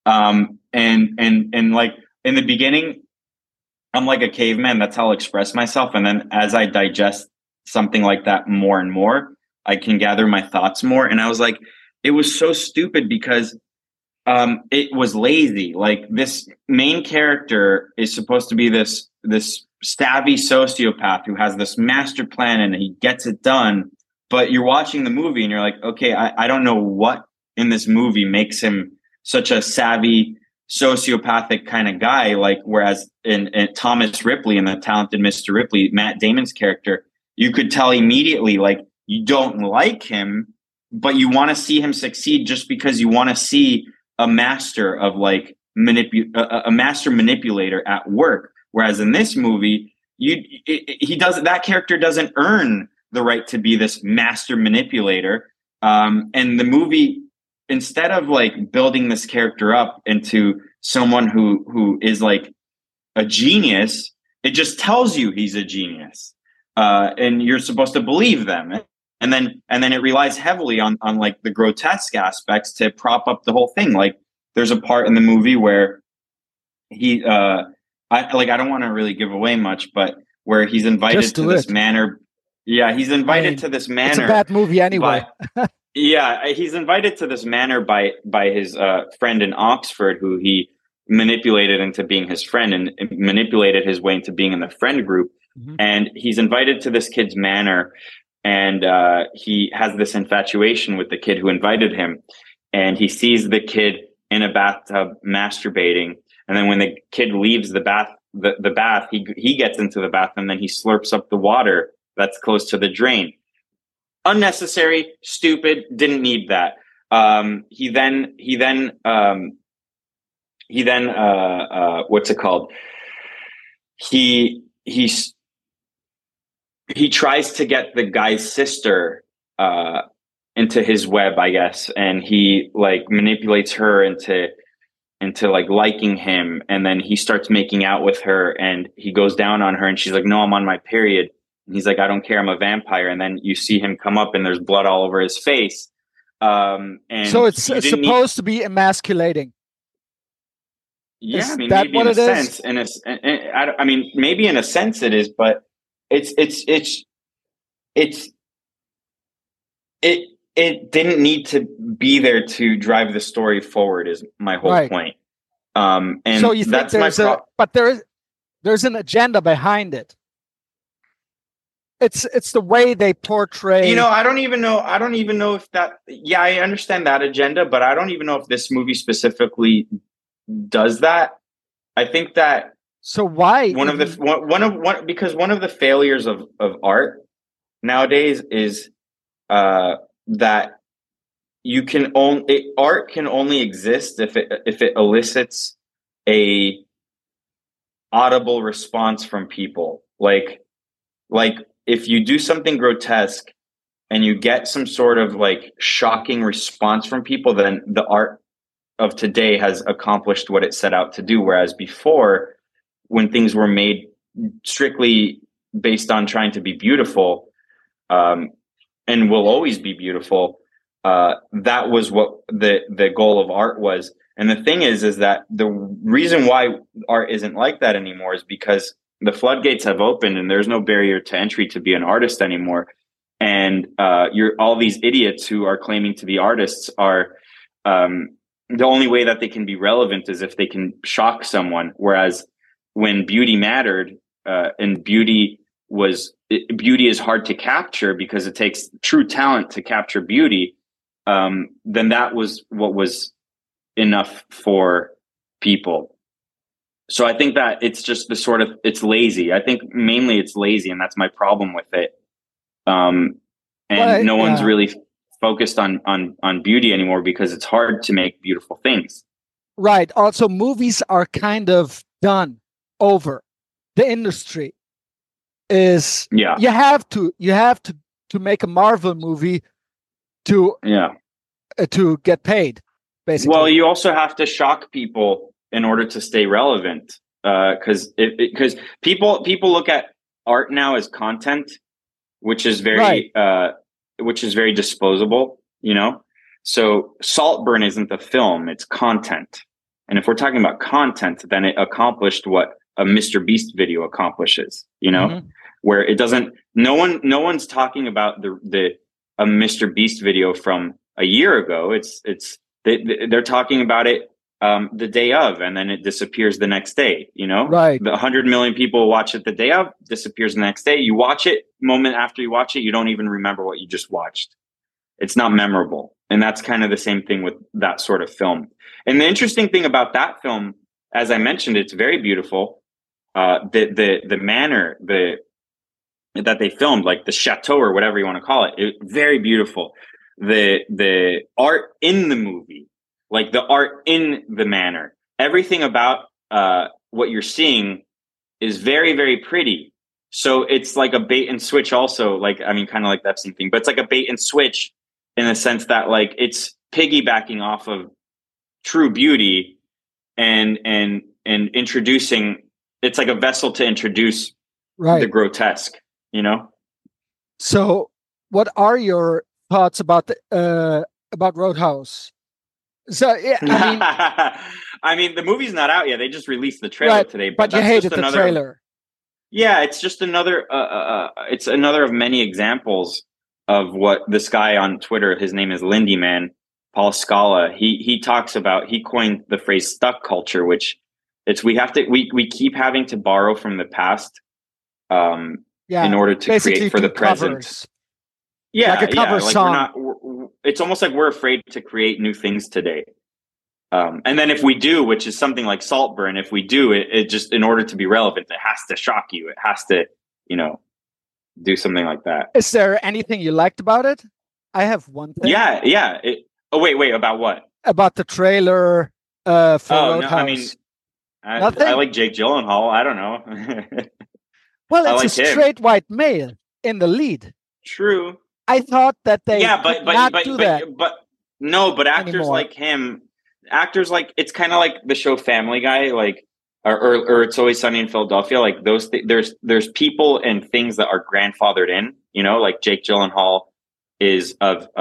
And like in the beginning, I'm like a caveman. That's how I'll express myself. And then as I digest something like that more and more, I can gather my thoughts more. And I was like, it was so stupid because it was lazy. Like this main character is supposed to be this savvy sociopath who has this master plan and he gets it done. But you're watching the movie and you're like, okay, I don't know what in this movie makes him such a savvy sociopathic kind of guy. Like, whereas in Thomas Ripley, in The Talented Mr. Ripley, Matt Damon's character, you could tell immediately, like, you don't like him, but you want to see him succeed just because you want to see a master of like a master manipulator at work. Whereas in this movie, that character doesn't earn the right to be this master manipulator. And the movie, instead of like building this character up into someone who is like a genius, it just tells you he's a genius, and you're supposed to believe them. And then it relies heavily on like the grotesque aspects to prop up the whole thing. Like there's a part in the movie where he, I don't want to really give away much, but where he's invited to this manor. Yeah, he's invited to this manor. It's a bad movie anyway. Yeah, he's invited to this manor by his friend in Oxford, who he manipulated into being his friend and manipulated his way into being in the friend group. And he's invited to this kid's manor. And he has this infatuation with the kid who invited him. And he sees the kid in a bathtub masturbating. And then when the kid leaves the bath, he gets into the bath and then he slurps up the water that's close to the drain. Unnecessary, stupid, didn't need that. He then what's it called? He tries to get the guy's sister into his web, I guess, and he like manipulates her into like liking him, and then he starts making out with her, and he goes down on her, and she's like, "No, I'm on my period." And he's like, "I don't care, I'm a vampire." And then you see him come up, and there's blood all over his face. And so it's supposed to be emasculating. Yeah, I mean, maybe in a sense, I mean, maybe in a sense it is, but it didn't need to be there to drive the story forward is my whole point. And so you think but there's an agenda behind it. It's the way they portray. You know, I don't even know if that. Yeah, I understand that agenda, but I don't even know if this movie specifically does that. I think that So why? Because one of the failures of art nowadays is that art can only exist if it elicits a audible response from people. Like if you do something grotesque and you get some sort of like shocking response from people, then the art of today has accomplished what it set out to do. Whereas before, when things were made strictly based on trying to be beautiful, and will always be beautiful, that was what the goal of art was. And the thing is that the reason why art isn't like that anymore is because the floodgates have opened and there's no barrier to entry to be an artist anymore. And all these idiots who are claiming to be artists are the only way that they can be relevant is if they can shock someone. Whereas when beauty mattered, and beauty is hard to capture because it takes true talent to capture beauty, then that was what was enough for people. So I think that it's just it's lazy. I think mainly it's lazy, and that's my problem with it. No one's really focused on beauty anymore because it's hard to make beautiful things. Right. Also, movies are kind of done over. The industry is you have to make a Marvel movie to get paid, basically. Well, you also have to shock people in order to stay relevant, because people look at art now as content, which is very disposable, you know. So Saltburn isn't the film, it's content. And if we're talking about content, then it accomplished what a Mr. Beast video accomplishes, you know, where it doesn't, no one's talking about a Mr. Beast video from a year ago. They're talking about it the day of, and then it disappears the next day, you know. Right. The 100 million people watch it the day of, disappears the next day. You watch it, moment after you watch it, you don't even remember what you just watched. It's not memorable. And that's kind of the same thing with that sort of film. And the interesting thing about that film, as I mentioned, it's very beautiful. The manner that they filmed, like the chateau or whatever you want to call it, very beautiful. The art in the movie, like the art in the manor, everything about what you're seeing is very, very pretty. So it's like a bait and switch also, like, I mean, kind of like that same thing, but it's like a bait and switch in the sense that like it's piggybacking off of true beauty and introducing, it's like a vessel to introduce the grotesque, you know? So what are your thoughts about Roadhouse? So I mean, the movie's not out yet. They just released the trailer today, but you hated the trailer. Yeah, it's just another. It's another of many examples of what this guy on Twitter. His name is Lindy Man, Paul Scala. He talks about. He coined the phrase "stuck culture," which we keep having to borrow from the past, in order to create for the present. Covers. Yeah, like a cover song. It's almost like we're afraid to create new things today. And then if we do, which is something like Saltburn, if we do it just in order to be relevant, it has to shock you. It has to, do something like that. Is there anything you liked about it? I have one thing. Yeah. Wait, about what? About the trailer for Roadhouse. No, I mean, I like Jake Gyllenhaal. I don't know. Well, it's a straight white male in the lead. True. I thought that they but actors anymore. Like him, actors like, it's kind of like the show Family Guy, like or It's Always Sunny in Philadelphia. Like those, there's people and things that are grandfathered in. Like Jake Gyllenhaal is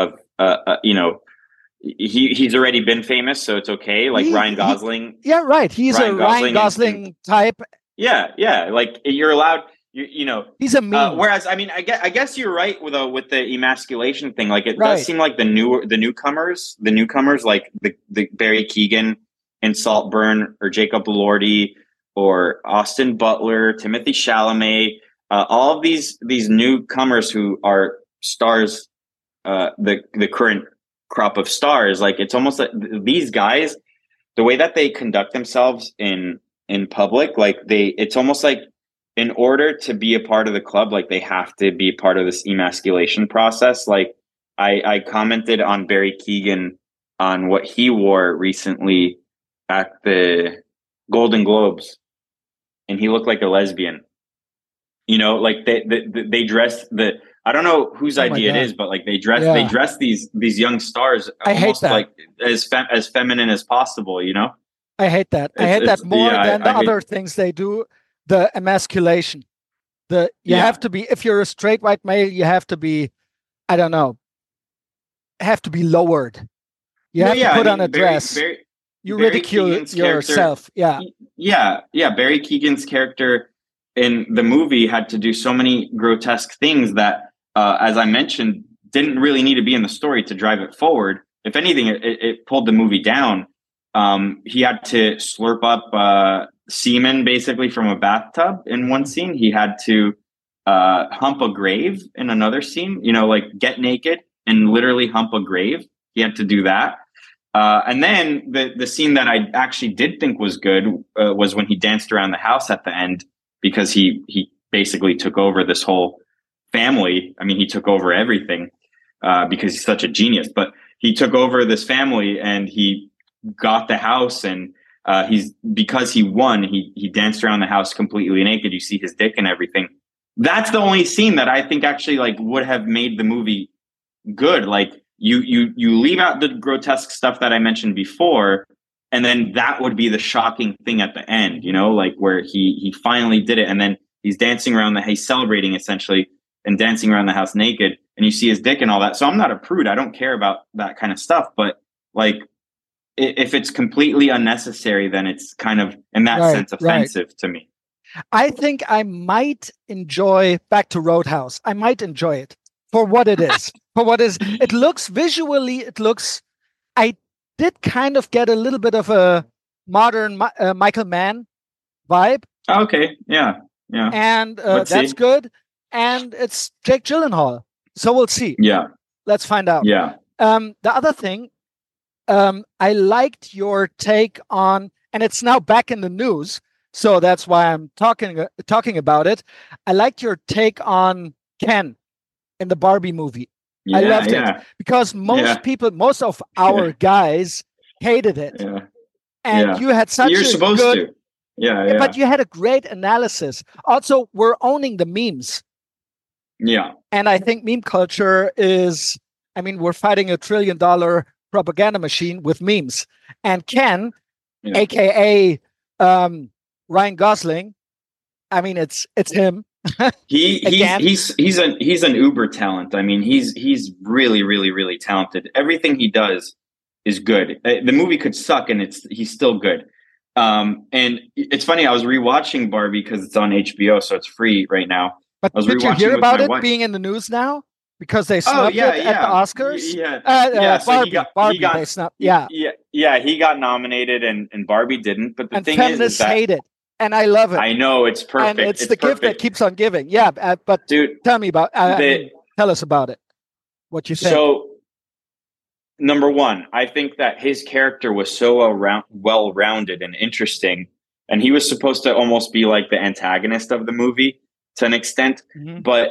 he's already been famous, so it's okay. Like Ryan Gosling. Yeah, right. He's a Ryan Gosling type. Yeah. Like you're allowed. He's a meme. Whereas, I mean, I guess you're right with the emasculation thing. Like it does seem like the newcomers, like the Barry Keoghan in Saltburn, or Jacob Elordi, or Austin Butler, Timothée Chalamet, all of these newcomers who are stars, the current crop of stars. Like it's almost like these guys, the way that they conduct themselves in in public. Like it's almost like in order to be a part of the club, like they have to be part of this emasculation process. Like I commented on Barry Keoghan on what he wore recently at the Golden Globes, and he looked like a lesbian. You know, like they dressed I don't know whose idea it is, but like they dress these young stars almost like as feminine as possible, you know? I hate that. I hate that more than the other things they do. The emasculation. You have to be, if you're a straight white male, you have to be, I don't know, have to be lowered. You have to put on a dress. You ridicule yourself. Yeah. Barry Keoghan's character in the movie had to do so many grotesque things that, as I mentioned, didn't really need to be in the story to drive it forward. If anything, it pulled the movie down. He had to slurp up semen basically from a bathtub in one scene. He had to hump a grave in another scene, you know, like get naked and literally hump a grave. He had to do that. And then the scene that I actually did think was good was when he danced around the house at the end, because he basically took over this whole family. I mean, he took over everything because he's such a genius, but he took over this family and he got the house, and because he won, he danced around the house completely naked. You see his dick and everything. That's the only scene that I think actually like would have made the movie good. Like you leave out the grotesque stuff that I mentioned before, and then that would be the shocking thing at the end, you know, like where he finally did it, and then he's dancing around he's celebrating essentially and dancing around the house naked, and you see his dick and all that. So I'm not a prude. I don't care about that kind of stuff, but like if it's completely unnecessary, then it's kind of in that sense offensive to me. I think I might enjoy Back to Roadhouse. I might enjoy it for what it is. It looks visually, I did kind of get a little bit of a modern Michael Mann vibe. Okay, yeah. And that's good. And it's Jake Gyllenhaal. So we'll see. Yeah. Let's find out. Yeah. The other thing, I liked your take on, and it's now back in the news, so that's why I'm talking about it. I liked your take on Ken in the Barbie movie. I loved it because most of our guys hated it. Yeah. And you had such You're supposed to. Yeah. But you had a great analysis. Also, we're owning the memes. Yeah. And I think meme culture is, I mean, we're fighting $1 trillion propaganda machine with memes. And Ken, aka Ryan Gosling, I mean, it's him. He's an uber talent. I mean, he's really, really, really talented. Everything he does is good. The movie could suck, and he's still good. And it's funny. I was rewatching Barbie because it's on HBO, so it's free right now. But did you hear about it being in the news now? Because they snubbed it at the Oscars. Barbie. They snubbed. Yeah. He got nominated, and Barbie didn't. But the thing is that hate it. And I love it. I know, it's perfect. And it's the gift that keeps on giving. Yeah, but dude, tell me about tell us about it. What you think? So, number one, I think that his character was so well-rounded and interesting, and he was supposed to almost be like the antagonist of the movie to an extent. Mm-hmm. But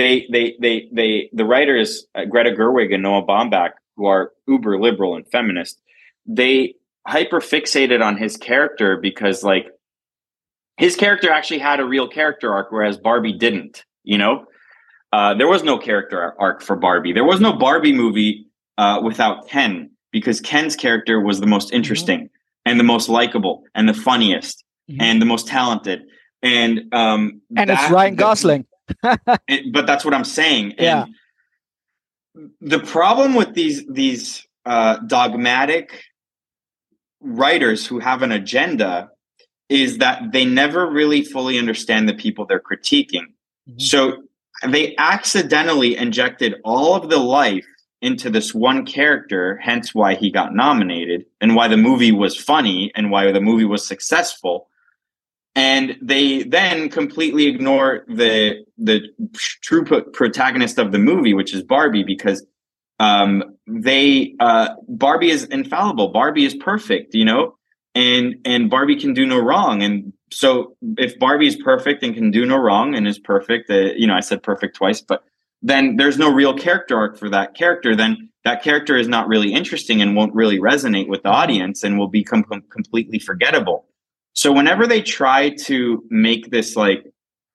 the writers, Greta Gerwig and Noah Baumbach, who are uber liberal and feminist, they hyper fixated on his character because like, his character actually had a real character arc, whereas Barbie didn't, you know? There was no character arc for Barbie. There was no Barbie movie without Ken, because Ken's character was the most interesting and the most likable and the funniest and the most talented. And it's Ryan Gosling. But that's what I'm saying. Yeah. And the problem with these dogmatic writers who have an agenda is that they never really fully understand the people they're critiquing. Mm-hmm. So they accidentally injected all of the life into this one character, hence why he got nominated and why the movie was funny and why the movie was successful. And they then completely ignore the true protagonist of the movie, which is Barbie, because Barbie is infallible. Barbie is perfect, you know? and Barbie can do no wrong. And so if Barbie is perfect and can do no wrong and is perfect, I said perfect twice, but then there's no real character arc for that character. Then that character is not really interesting and won't really resonate with the audience and will become completely forgettable. So whenever they try to make this like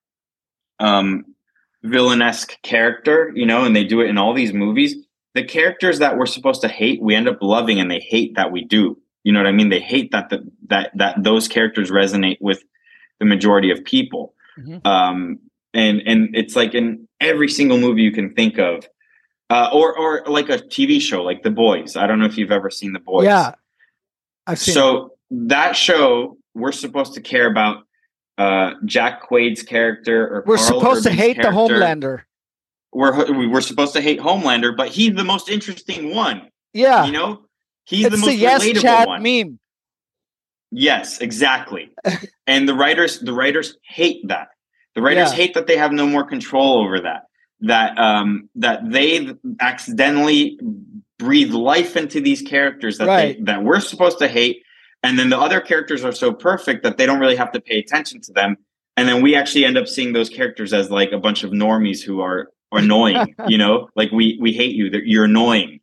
villainesque character, and they do it in all these movies, the characters that we're supposed to hate, we end up loving, and they hate that we do. You know what I mean? They hate that that those characters resonate with the majority of people. Mm-hmm. And it's like in every single movie you can think of, or like a TV show like The Boys. I don't know if you've ever seen The Boys. Yeah, I've seen. So that show, we're supposed to care about Jack Quaid's character, or we're Carl supposed Urban's to hate character. the Homelander. We're supposed to hate Homelander, but he's the most interesting one. Yeah, he's it's the most yes relatable chat one. Meme. Yes, exactly. And the writers hate that. The writers hate that they have no more control over that. That they accidentally breathe life into these characters that we're supposed to hate, and then the other characters are so perfect that they don't really have to pay attention to them, and then we actually end up seeing those characters as like a bunch of normies who are annoying. Like we hate you. You're annoying.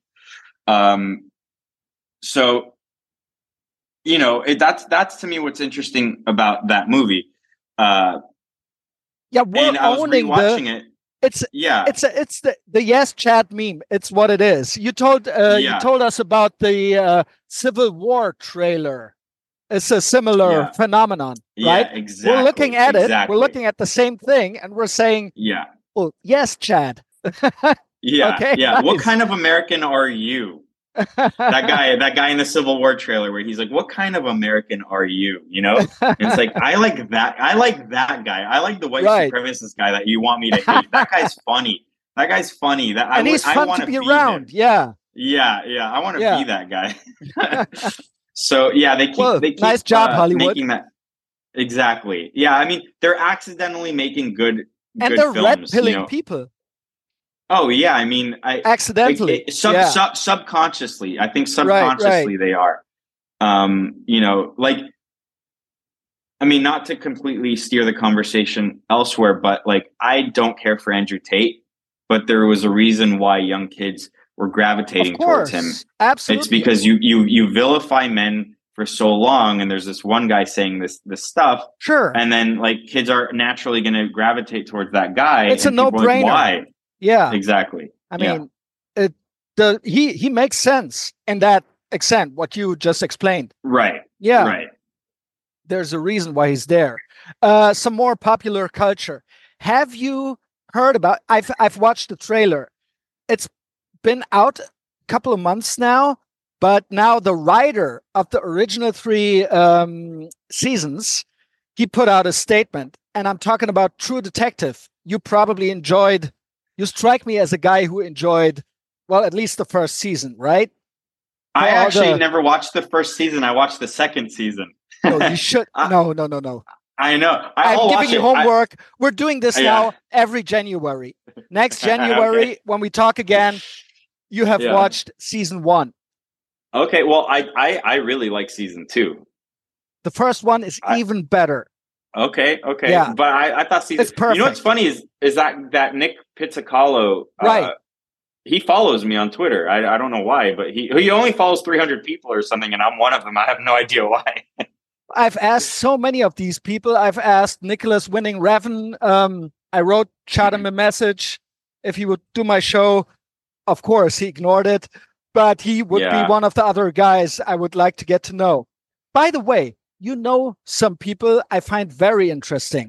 So that's to me what's interesting about that movie. We're owning it. It's the yes chat meme. It's what it is. You told us about the Civil War trailer. It's a similar phenomenon, right? Yeah, exactly. We're looking at it. We're looking at the same thing, and we're saying, well, yes, Chad. Yeah. Okay, yeah. nice. What kind of American are you? that guy in the Civil War trailer where he's like, what kind of American are you? And it's like, I like that guy. I like the white supremacist guy that you want me to hate. That guy's funny. And he's fun to be around. Yeah. I want to be that guy. So they keep nice job, Hollywood. Making that. Exactly. Yeah. I mean, they're accidentally making good and they're films, red pilling people. Oh yeah, I mean, accidentally, subconsciously. I think subconsciously they are. Not to completely steer the conversation elsewhere, but like, I don't care for Andrew Tate, but there was a reason why young kids were gravitating towards him. Absolutely, it's because you vilify men for so long, and there's this one guy saying this stuff. Sure, and then like kids are naturally going to gravitate towards that guy. It's a no-brainer. Like, why? Yeah, exactly. I mean, he makes sense in that extent. What you just explained, right? Yeah, right. There's a reason why he's there. Some more popular culture. Have you heard about? I've watched the trailer. It's been out a couple of months now, but now the writer of the original 3 seasons, he put out a statement, and I'm talking about True Detective. You probably enjoyed. You strike me as a guy who enjoyed, well, at least the first season, right? I actually never watched the first season. I watched the second season. No, you should. No. I know. I'm giving you homework. We're doing this now every January. Next January, when we talk again, you have watched season 1. Okay, well, I really like season 2. The first one is even better. Okay. Yeah. But I thought season. It's perfect. You know what's funny is that Nick Pizzacalo, right? He follows me on Twitter. I don't know why, but he only follows 300 people or something, and I'm one of them. I have no idea why. I've asked so many of these people. I've asked Nicholas Winning Revan. I shot him a message if he would do my show. Of course, he ignored it, but he would be one of the other guys I would like to get to know. By the way, some people I find very interesting.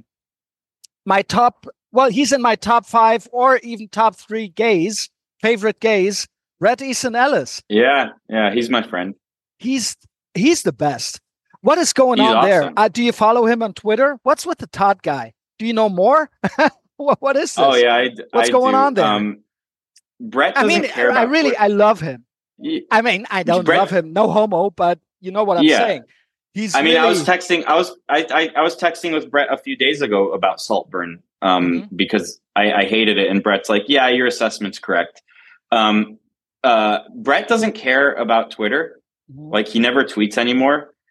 He's in my top 5 or even top 3 favorite gays, Bret Easton Ellis. Yeah, he's my friend. He's the best. What is going on awesome. there? Do you follow him on Twitter? What's with the Todd guy? Do you know more? What is this? Oh yeah, what's going on there? Bret doesn't care about I love him. I mean, I don't love him. No homo, but you know what I'm saying. I was texting with Bret a few days ago about Saltburn because I hated it, and Bret's like, "Yeah, your assessment's correct." Bret doesn't care about Twitter. Like, he never tweets anymore.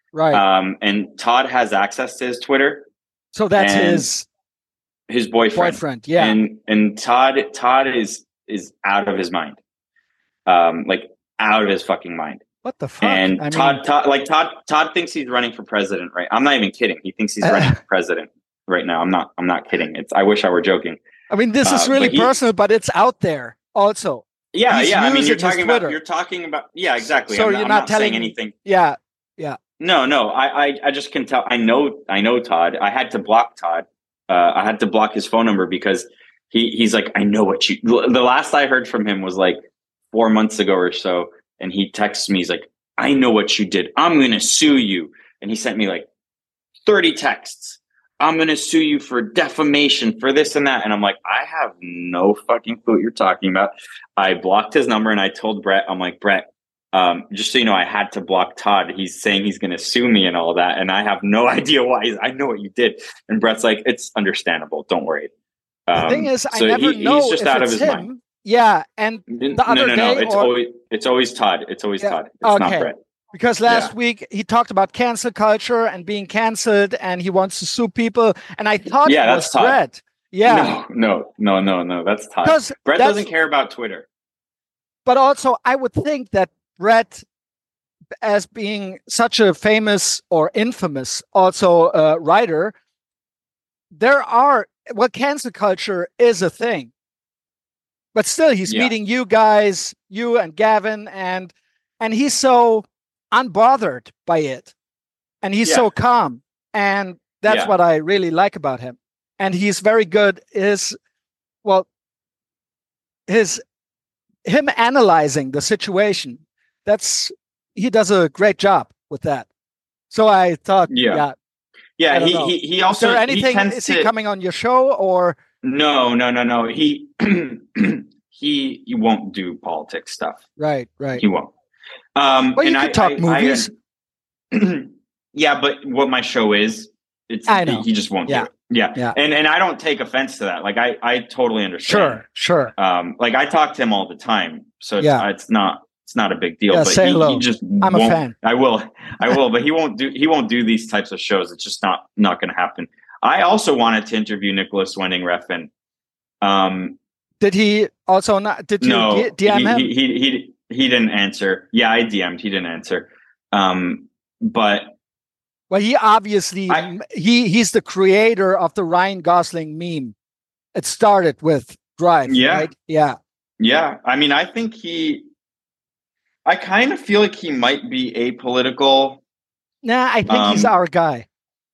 Right. And Todd has access to his Twitter. So that's his boyfriend. Yeah. And Todd is out of his mind. Like out of his fucking mind. What the fuck? And Todd thinks he's running for president, right? I'm not even kidding. He thinks he's running for president right now. I'm not kidding. I wish I were joking. I mean, this is really personal, but it's out there also. Yeah, yeah. I mean, you're talking about. Yeah, exactly. So you're not telling saying anything. Yeah, yeah. No. I just can tell. I know Todd. I had to block Todd. I had to block his phone number because he's like, I know what you. The last I heard from him was like 4 months ago or so, and he texts me. He's like, I know what you did. I'm gonna sue you. And he sent me like 30 texts. I'm going to sue you for defamation, for this and that. And I'm like, I have no fucking clue what you're talking about. I blocked his number and I told Brett, I'm like, Brett, just so you know, I had to block Todd. He's saying he's going to sue me and all that. And I have no idea why. I know what you did. And Brett's like, it's understandable. Don't worry. The thing is, I never know he's just if out it's of his him. mind. Yeah. And the other day. It's always Todd. It's always Todd. It's not Brett. Because last week he talked about cancel culture and being canceled, and he wants to sue people. And I thought it was Brett. Yeah. No. That's Todd. Brett doesn't care about Twitter. But also, I would think that Brett, as being such a famous or infamous also writer, cancel culture is a thing. But still, he's meeting you guys, you and Gavin, and he's so unbothered by it, and he's so calm, and that's what I really like about him. And he's very good. Him analyzing the situation, he does a great job with that. So I thought, he also, is there anything? Is he coming on your show or no? He won't do politics stuff. Right. He won't. Well, you can talk movies. Yeah, but what my show is, he just won't do it. Yeah. And I don't take offense to that. Like I totally understand. Sure. Like I talk to him all the time, so it's not a big deal. Yeah, but say hello. He just I'm won't. A fan. I will, but he won't do these types of shows. It's just not going to happen. I also wanted to interview Nicholas Winding Refn. Did he also not? Did you DM him? He didn't answer. Yeah, I DM'd. He didn't answer. But he obviously he's the creator of the Ryan Gosling meme. It started with Drive. Yeah. Right? Yeah. Yeah. I mean, I think I kind of feel like he might be apolitical. Nah, I think he's our guy.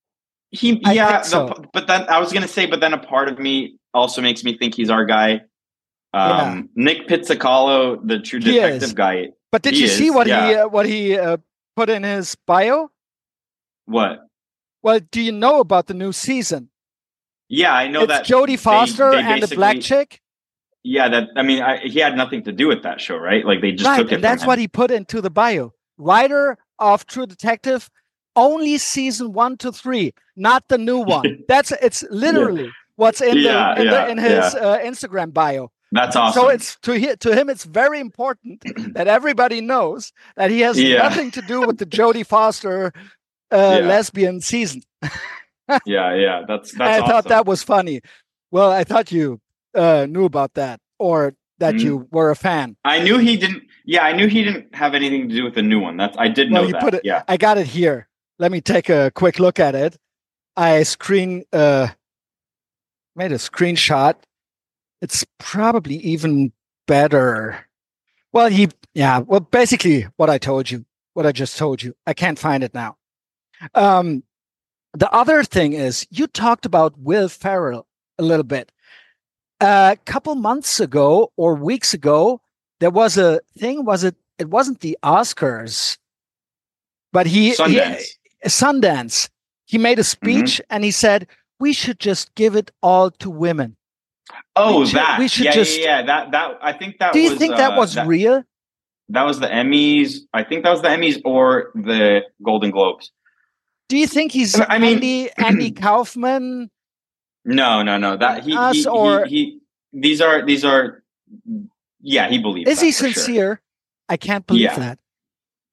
But then I was gonna say, but then a part of me also makes me think he's our guy. Nick Pizzicato, the True Detective guy. But did you see what he put in his bio? What? Well, do you know about the new season? Yeah, I know that Jodie Foster and the black chick. Yeah, he had nothing to do with that show, right? Like they just took it. And that's what he put into the bio. Writer of True Detective, only season 1 to 3, not the new one. It's literally what's in his Instagram bio. That's awesome. So it's to him, it's very important that everybody knows that he has nothing to do with the Jodie Foster lesbian season. That's I awesome. thought that was funny. Well, I thought you knew about that, or that you were a fan. I knew he didn't. Yeah, I knew he didn't have anything to do with the new one. I did know that. I got it here. Let me take a quick look at it. I made a screenshot. It's probably even better. Well, basically what I just told you. I can't find it now. The other thing is, you talked about Will Ferrell a little bit. A couple months ago or weeks ago, there was a thing. It wasn't the Oscars, but Sundance. He made a speech and he said, we should just give it all to women. We should that I think that. Do you think that was real? That was the Emmys. I think that was the Emmys or the Golden Globes. Do you think he's Andy Kaufman? No. That these are. Yeah, he believes. Is he sincere? Sure. I can't believe that.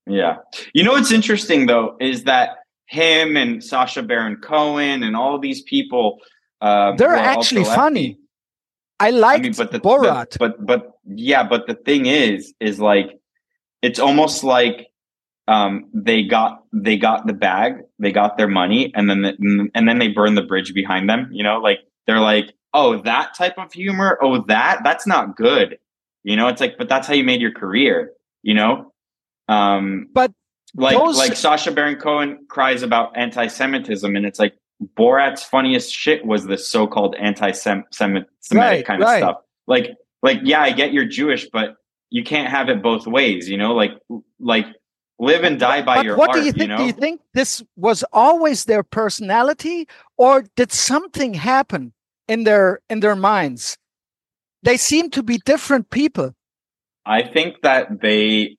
Yeah. You know what's interesting though is that him and Sacha Baron Cohen and all these people they're actually funny. I liked Borat. But the thing is like it's almost like they got the bag, they got their money, and then they burn the bridge behind them. You know, like they're like, oh, that type of humor, oh, that's not good. You know, it's like, but that's how you made your career. You know, but like Sacha Baron Cohen cries about anti-Semitism, and it's like Borat's funniest shit was the so-called anti-Semitic kind of stuff. Like yeah, I get you're Jewish, but you can't have it both ways. You know, like live and die by your what art. Do you think? You know? Do you think this was always their personality, or did something happen in their minds? They seem to be different people. I think that they.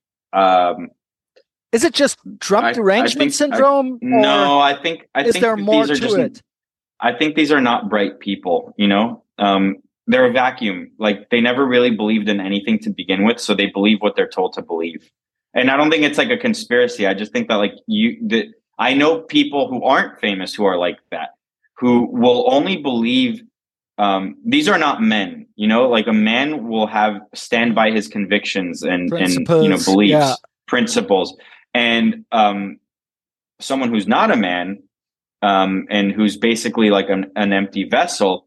Is it just Trump derangement syndrome? No, I think there more to it? I think these are not bright people. You know, they're a vacuum. Like they never really believed in anything to begin with, so they believe what they're told to believe. And I don't think it's like a conspiracy. I just think that like I know people who aren't famous who are like that, who will only believe. These are not men, you know, like a man will stand by his convictions and beliefs, principles. And someone who's not a man and who's basically like an empty vessel,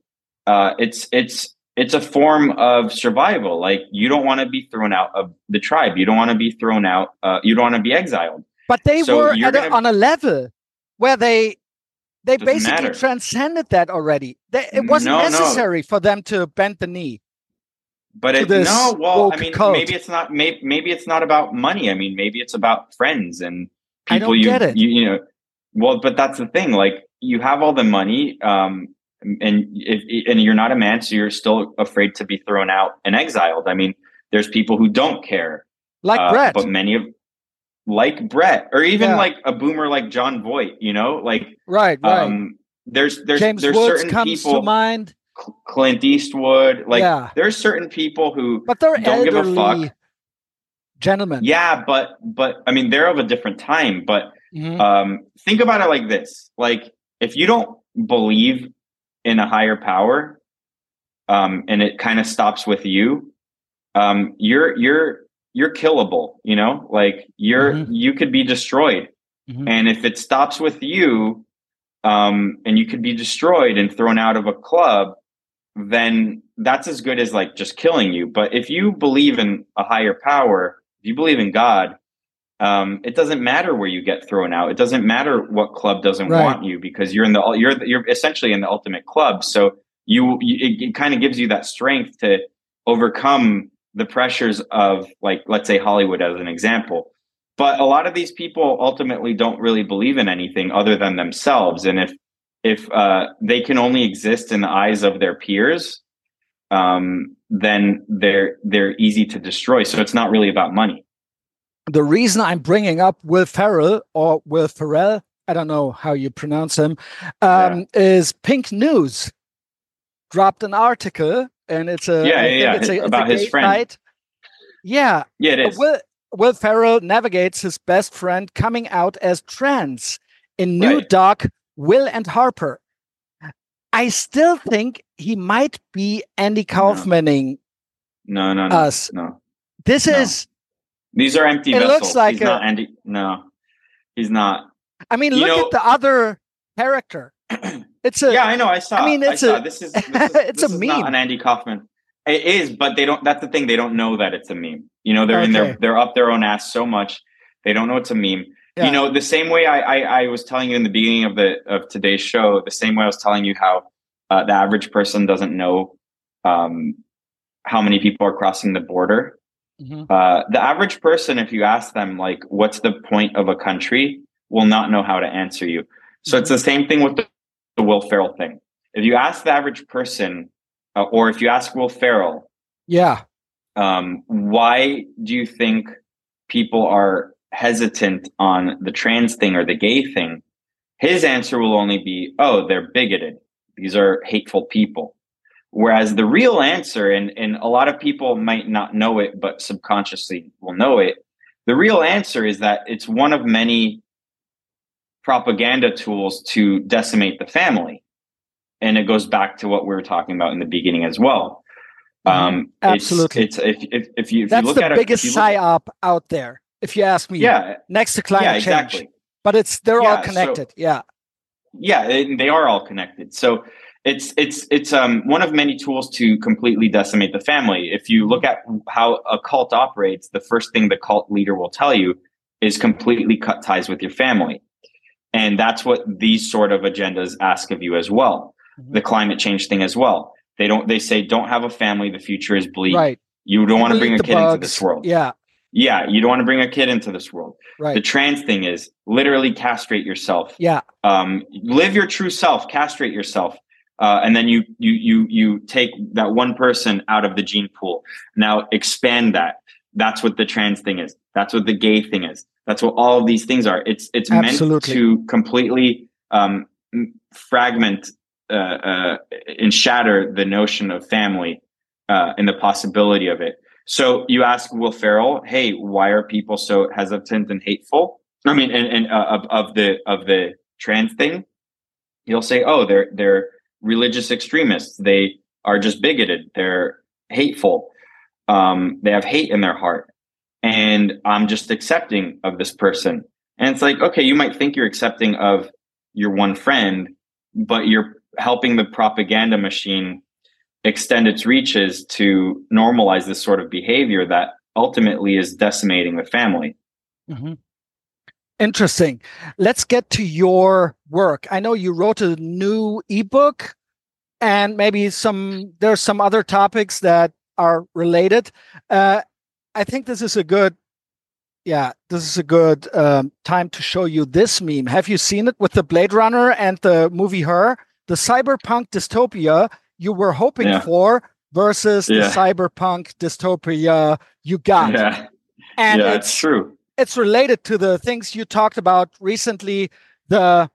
it's a form of survival. Like you don't want to be thrown out of the tribe. You don't want to be thrown out. You don't want to be exiled. But they were on a level where they basically transcended that already. It wasn't necessary for them to bend the knee. But I mean, cult. Maybe it's not about money. I mean, maybe it's about friends and people. I don't get it. You know, well, but that's the thing. Like you have all the money, and you're not a man, so you're still afraid to be thrown out and exiled. I mean, there's people who don't care, like Brett, but like Brett, or even like a boomer like John Voight. You know, like right. There's James Woods certain comes people to mind. Clint Eastwood, like there's certain people who don't give a fuck. Gentlemen. Yeah, but I mean they're of a different time. But think about it like this: like if you don't believe in a higher power, and it kind of stops with you, you're killable. You know, like you could be destroyed, and if it stops with you, and you could be destroyed and thrown out of a club, then that's as good as like just killing you. But if you believe in a higher power, if you believe in God, it doesn't matter where you get thrown out. It doesn't matter what club doesn't want you, because you're essentially in the ultimate club. So it kind of gives you that strength to overcome the pressures of, like, let's say Hollywood as an example. But a lot of these people ultimately don't really believe in anything other than themselves. And if they can only exist in the eyes of their peers, then they're easy to destroy. So it's not really about money. The reason I'm bringing up Will Ferrell, I don't know how you pronounce him, is Pink News dropped an article, and it's about his friend. Site. Yeah, it is. Will Ferrell navigates his best friend coming out as trans in new doc Will and Harper. I still think he might be Andy Kaufmaning. No. Us. No. This is. These are empty vessels. Looks like he's not Andy. No, he's not. I mean, look at the other character. It's a. Yeah, I know. I saw. I mean, this is it's a meme. Not an Andy Kaufman. It is, but they don't. That's the thing. They don't know that it's a meme. You know, they're up their own ass so much, they don't know it's a meme. Yeah. You know, the same way I was telling you in the beginning of today's show, the same way I was telling you how the average person doesn't know how many people are crossing the border. The average person, if you ask them, like, what's the point of a country, will not know how to answer you. So it's the same thing with the Will Ferrell thing. If you ask the average person, or if you ask Will Ferrell, why do you think people are hesitant on the trans thing or the gay thing? His answer will only be, oh, they're bigoted. These are hateful people. Whereas the real answer, and a lot of people might not know it, but subconsciously will know it, The real answer is that it's one of many propaganda tools to decimate the family. And it goes back to what we were talking about in the beginning as well. Absolutely. It's if you that's look the at it, biggest psyop out there, if you ask me. Yeah, next to climate exactly. change. But they're all connected. They are all connected. So it's one of many tools to completely decimate the family. If you look at how a cult operates, the first thing the cult leader will tell you is completely cut ties with your family. And that's what these sort of agendas ask of you as well. The climate change thing as well. They say, don't have a family. The future is bleak. Right. You don't want to bring a kid into this world. Yeah. You don't want to bring a kid into this world. Right. The trans thing is literally castrate yourself. Yeah. Live your true self, castrate yourself. And then you take that one person out of the gene pool. Now expand that. That's what the trans thing is. That's what the gay thing is. That's what all of these things are. It's meant to completely fragment and shatter the notion of family and the possibility of it. So you ask Will Ferrell, hey, why are people so hesitant and hateful? I mean, and of the trans thing, he'll say, oh, they're religious extremists. They are just bigoted. They're hateful. They have hate in their heart. And I'm just accepting of this person. And it's like, okay, you might think you're accepting of your one friend, but you're helping the propaganda machine extend its reaches to normalize this sort of behavior that ultimately is decimating the family. Interesting. Let's get to your work. I know you wrote a new ebook, and maybe there's some other topics that are related. I think this is a good time to show you this meme. Have you seen it with the Blade Runner and the movie Her? The cyberpunk dystopia you were hoping for versus the cyberpunk dystopia you got. And it's true. It's related to the things you talked about recently, where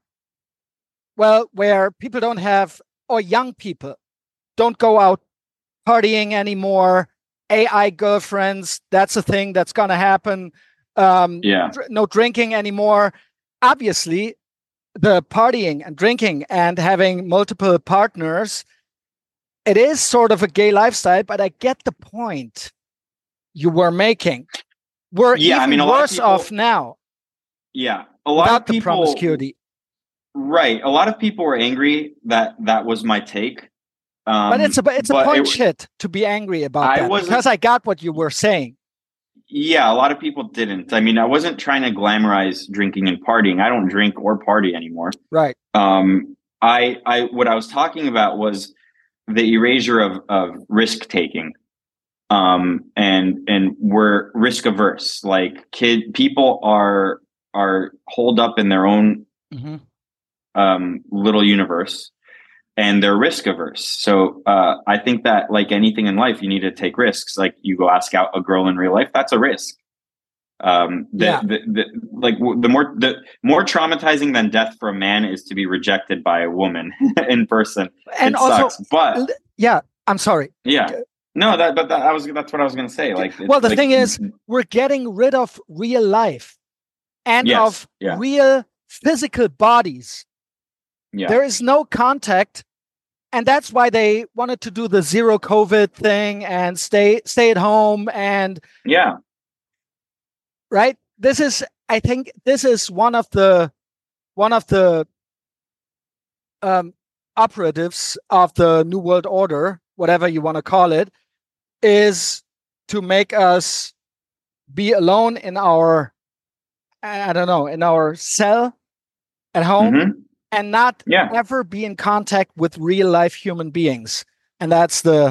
people don't have, or young people don't go out partying anymore. AI girlfriends, that's a thing that's going to happen. No drinking anymore. Obviously, the partying and drinking and having multiple partners, it is sort of a gay lifestyle, but I get the point you were making. We're even worse off now. Yeah. A lot of people, the promiscuity. Right. A lot of people were angry that was my take. But it's a point shit to be angry about that, because I got what you were saying. Yeah, a lot of people didn't. I mean, I wasn't trying to glamorize drinking and partying. I don't drink or party anymore. Right. What I was talking about was the erasure of risk taking. And we're risk averse. Like people are holed up in their own little universe. And they're risk averse. So I think that, like anything in life, you need to take risks. Like you go ask out a girl in real life, that's a risk. The more traumatizing than death for a man is to be rejected by a woman in person. And it also, sucks. But I'm sorry. Yeah, no, that's what I was going to say. Like, the thing is, we're getting rid of real life and of real physical bodies. Yeah. There is no contact. And that's why they wanted to do the zero COVID thing and stay at home and right. I think this is one of the operatives of the New World Order, whatever you want to call it, is to make us be alone in our, in our cell at home. And not ever be in contact with real life human beings, and that's the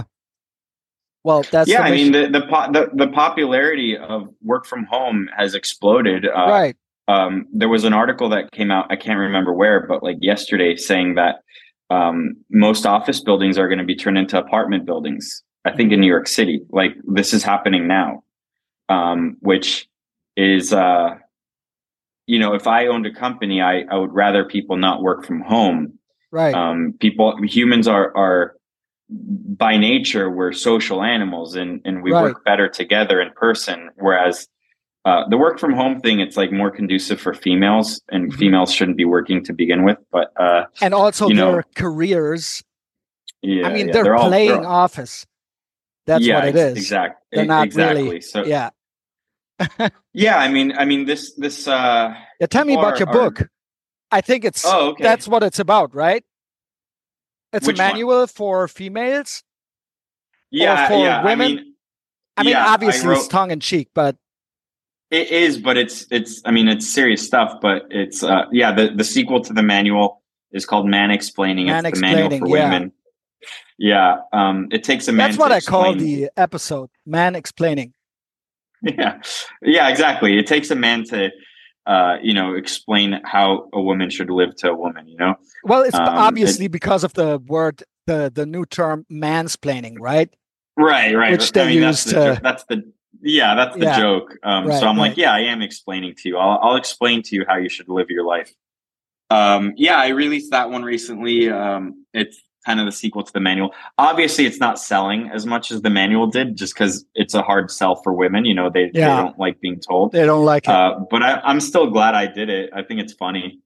I mean the popularity of work from home has exploded. Right. There was an article that came out, I can't remember where, but like yesterday, saying that most office buildings are going to be turned into apartment buildings. I think in New York City, like this is happening now, which is. If I owned a company, I would rather people not work from home. Right. Humans are by nature, we're social animals and we work better together in person. Whereas the work from home thing, it's like more conducive for females, and females shouldn't be working to begin with. But and also their careers. Yeah, I mean, they're playing office. That's what it is. Exactly. They're not really. So yeah. Yeah, I mean this. Tell me about your book. I think it's. Oh, okay. That's what it's about, right? It's a manual for females. Yeah, or for women. I mean, obviously it's tongue in cheek, but it is. But it's. I mean, it's serious stuff. But it's. The sequel to the manual is called Man-Explaining. It's the manual for women. Yeah. It takes a man. That's what I call the episode, Man-Explaining. Yeah. Yeah. Exactly. It takes a man to. Explain how a woman should live to a woman, Well, it's obviously because of the word, the new term mansplaining, right? Right. Which they use that's the joke. So I'm like, I am explaining to you. I'll explain to you how you should live your life. I released that one recently. It's kind of the sequel to the manual. Obviously, it's not selling as much as the manual did, just because it's a hard sell for women. They don't like being told. They don't like it. But I'm still glad I did it. I think it's funny.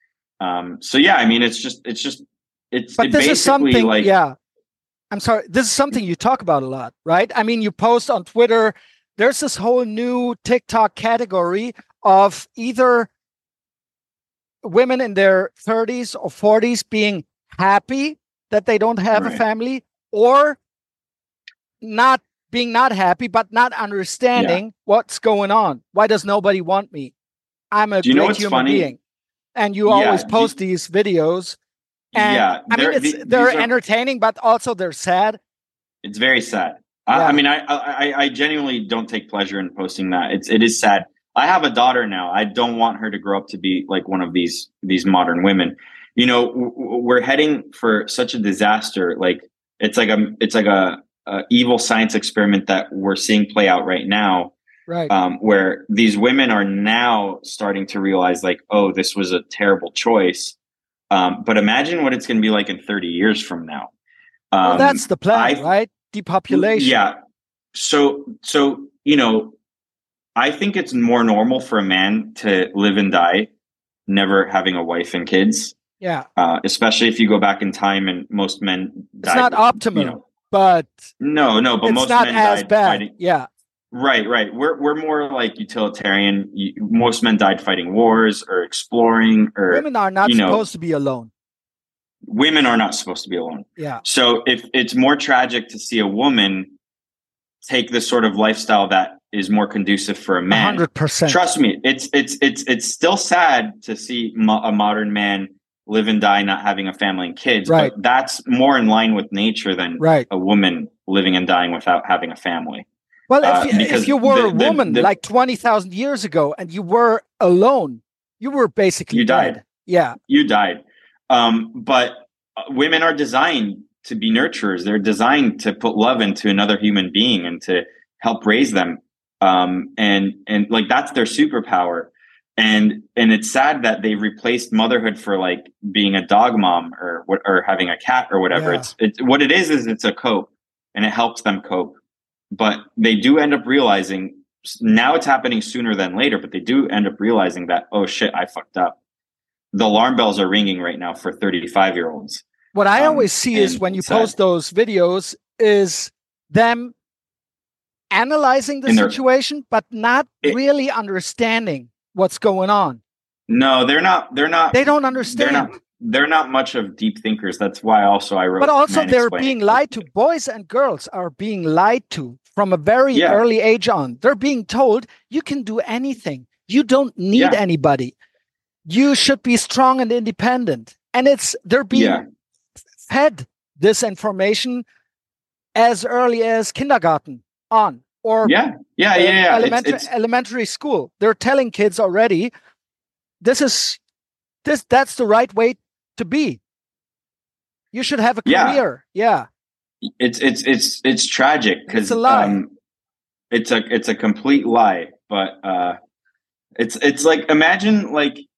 I mean, it's But this is something. Like, I'm sorry. This is something you talk about a lot, right? I mean, you post on Twitter. There's this whole new TikTok category of either women in their 30s or 40s being happy that they don't have a family, or not happy, but not understanding what's going on. Why does nobody want me? I'm a great human being. And you always post these videos. And I mean, they're entertaining, but also they're sad. It's very sad. I mean, I genuinely don't take pleasure in posting that. It is sad. I have a daughter now. I don't want her to grow up to be like one of these modern women. We're heading for such a disaster. Like it's like a evil science experiment that we're seeing play out right now. Right. Where these women are now starting to realize, like, oh, this was a terrible choice. But imagine what it's going to be like in 30 years from now. Well, that's the plan, right? Depopulation. Yeah. So I think it's more normal for a man to live and die, never having a wife and kids. Yeah. Especially if you go back in time, and most men died. It's not optimal, but no, but most not men as died bad. Fighting. Yeah. Right. We're more like utilitarian. Most men died fighting wars or exploring. Or women are not supposed to be alone. Women are not supposed to be alone. Yeah. So if it's more tragic to see a woman take this sort of lifestyle that is more conducive for a man. 100%. Trust me, it's still sad to see a modern man live and die not having a family and kids. Right. But that's more in line with nature than a woman living and dying without having a family. Well, if you were a woman like 20,000 years ago and you were alone, you were basically died. Yeah. You died. But women are designed to be nurturers. They're designed to put love into another human being and to help raise them. And like that's their superpower. And it's sad that they replaced motherhood for like being a dog mom or having a cat or whatever. Yeah. It's what it is it's a cope, and it helps them cope. But they do end up realizing, now it's happening sooner than later, but they do end up realizing that, oh shit, I fucked up. The alarm bells are ringing right now for 35-year-olds. What I always see is when you post those videos is them analyzing the situation, but not really understanding what's going on. No, they're not. They don't understand. They're not much of deep thinkers. That's why also I wrote. But also they're being lied to. Boys and girls are being lied to from a very early age on. They're being told you can do anything. You don't need anybody. You should be strong and independent. And they're being fed this information as early as kindergarten on, or elementary school. They're telling kids already, that's the right way to be. You should have a career. Yeah. It's tragic because it's a lie. It's a complete lie. But it's like imagine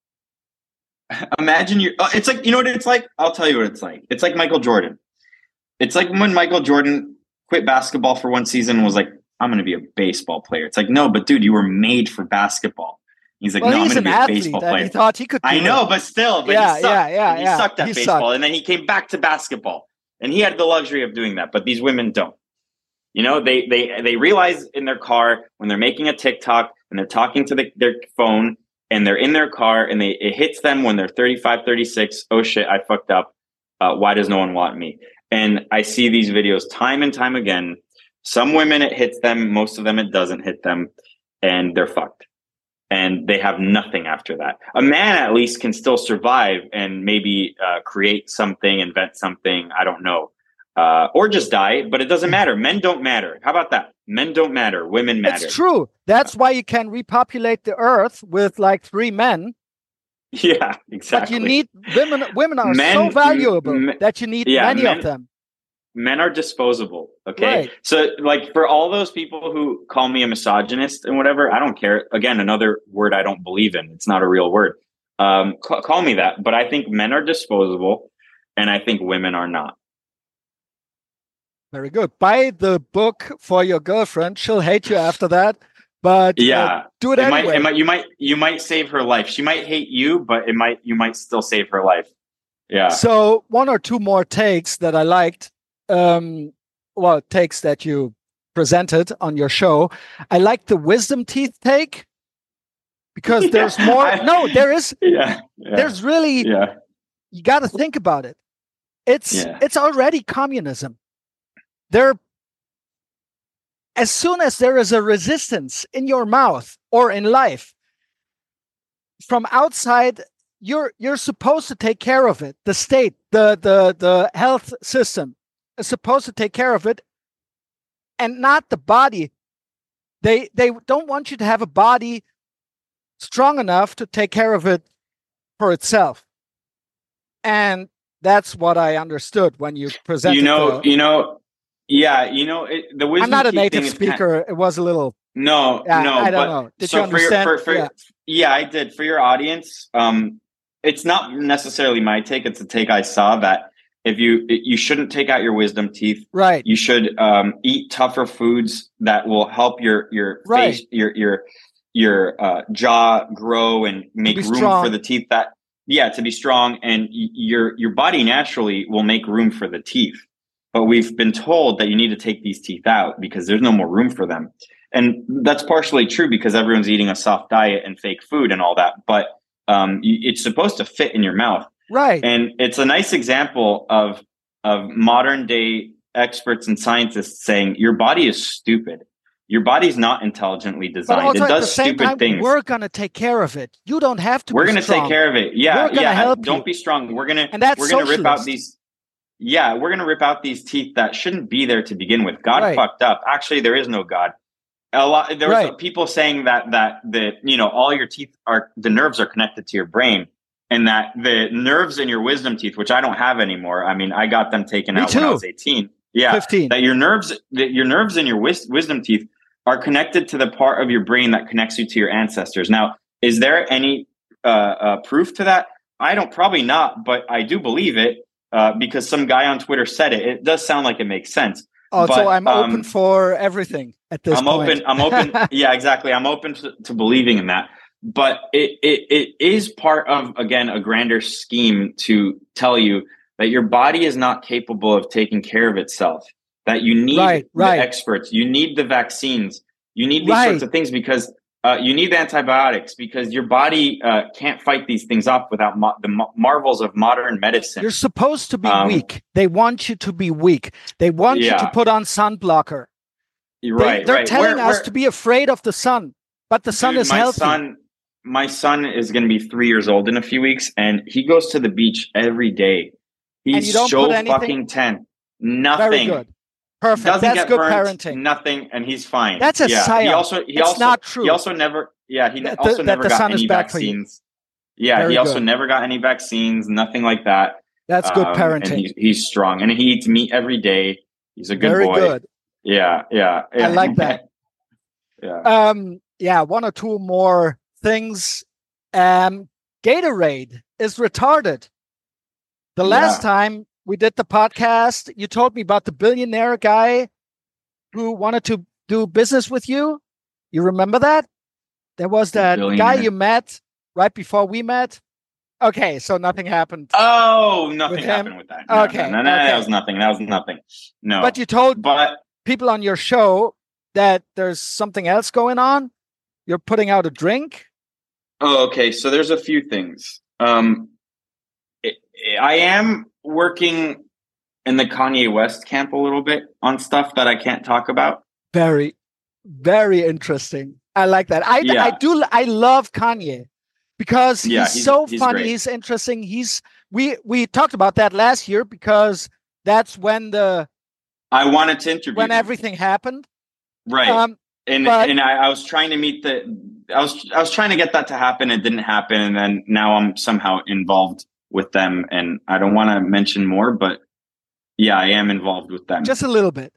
you. It's like, you know what it's like. I'll tell you what it's like. It's like Michael Jordan. It's like when Michael Jordan quit basketball for one season and was like I'm going to be a baseball player. It's like, no, but dude, you were made for basketball. He's like, well, no, I'm he's going to an be a athlete, baseball and player. he thought he could do I know, it. but still, but Yeah, he sucked. yeah. He sucked at He baseball. sucked. And then he came back to basketball. And he had the luxury of doing that. But these women don't. You know, they realize in their car when they're making a TikTok and they're talking to their phone and they're in their car and it hits them when they're 35, 36. Oh shit, I fucked up. Why does no one want me? And I see these videos time and time again. Some women, it hits them. Most of them, it doesn't hit them. And they're fucked. And they have nothing after that. A man at least can still survive and maybe create something, invent something. I don't know. Or just die, but it doesn't matter. Men don't matter. How about that? Men don't matter. Women matter. It's true. That's why you can repopulate the earth with like 3 men. Yeah, exactly. But you need women. Women are so valuable that you need many of them. Men are disposable. Okay. Right. So like for all those people who call me a misogynist and whatever, I don't care. Again, another word I don't believe in. It's not a real word. Call me that. But I think men are disposable and I think women are not. Very good. Buy the book for your girlfriend. She'll hate you after that. But yeah, do it anyway. You might save her life. She might hate you, but you might still save her life. Yeah. So 1 or 2 more takes that I liked. Takes that you presented on your show. I like the wisdom teeth take because there's more. There is. Yeah. There's really. Yeah. You got to think about it. It's already communism. As soon as there is a resistance in your mouth or in life from outside, you're supposed to take care of it. The state, the health system is supposed to take care of it, and not the body. They don't want you to have a body strong enough to take care of it for itself. And that's what I understood when you presented. The wisdom. I'm not a native speaker. It was a little. No. I don't know. Did you understand? Yeah, I did. For your audience, it's not necessarily my take. It's a take I saw that if you shouldn't take out your wisdom teeth. Right. You should eat tougher foods that will help your face, your jaw grow and make room strong. for the teeth. To be strong, and your body naturally will make room for the teeth. But we've been told that you need to take these teeth out because there's no more room for them. And that's partially true because everyone's eating a soft diet and fake food and all that. But it's supposed to fit in your mouth. Right. And it's a nice example of modern day experts and scientists saying your body is stupid. Your body's not intelligently designed. But also it does stupid things. We're going to take care of it. You don't have to. We're going to take care of it. Yeah. We're going to help Don't you. be strong. We're going to rip out these. Yeah, we're going to rip out these teeth that shouldn't be there to begin with. God fucked up. Actually, there is no God. There was people saying that all your teeth the nerves are connected to your brain, and that the nerves in your wisdom teeth, which I don't have anymore. I mean, I got them taken out when I was 18. Yeah, 15. That your nerves in your wisdom teeth are connected to the part of your brain that connects you to your ancestors. Now, is there any proof to that? Probably not, but I do believe it. Because some guy on Twitter said it. It does sound like it makes sense. So I'm open for everything at this point. I'm open. Yeah, exactly. I'm open to believing in that. But it is part of, again, a grander scheme to tell you that your body is not capable of taking care of itself, that you need the experts, you need the vaccines, you need these sorts of things because you need the antibiotics because your body can't fight these things off without the marvels of modern medicine. You're supposed to be weak. They want you to be weak. They want you to put on sun blocker. They're telling us to be afraid of the sun, but the sun is healthy. My son is going to be 3 years old in a few weeks, and he goes to the beach every day. He's so fucking 10. Nothing. Very good. Perfect. That's good parenting. Nothing, and he's fine. That's a psyop. It's not true. He also never. Yeah, he also never got any vaccines. Yeah, he also never got any vaccines. Nothing like that. That's good parenting. And he's strong, and he eats meat every day. He's a good boy. Very good. Yeah. I like that. Yeah. 1 or 2 more things. Gatorade is retarded. The last time we did the podcast, you told me about the billionaire guy who wanted to do business with you? You remember that? There was that guy you met right before we met. Okay, so nothing happened. Oh, nothing happened with that. No, okay. No, that was nothing. That was nothing. No. But you told people on your show that there's something else going on. You're putting out a drink. Oh, okay. So there's a few things. I am working in the Kanye West camp a little bit on stuff that I can't talk about. Very, very interesting. I like that. I love Kanye because he's so funny. Great. He's interesting. We talked about that last year because that's when I wanted to interview when everything happened. Right. And I was trying to meet I was trying to get that to happen. It didn't happen. And then now I'm somehow involved with them. And I don't want to mention more, but yeah, I am involved with them. Just a little bit.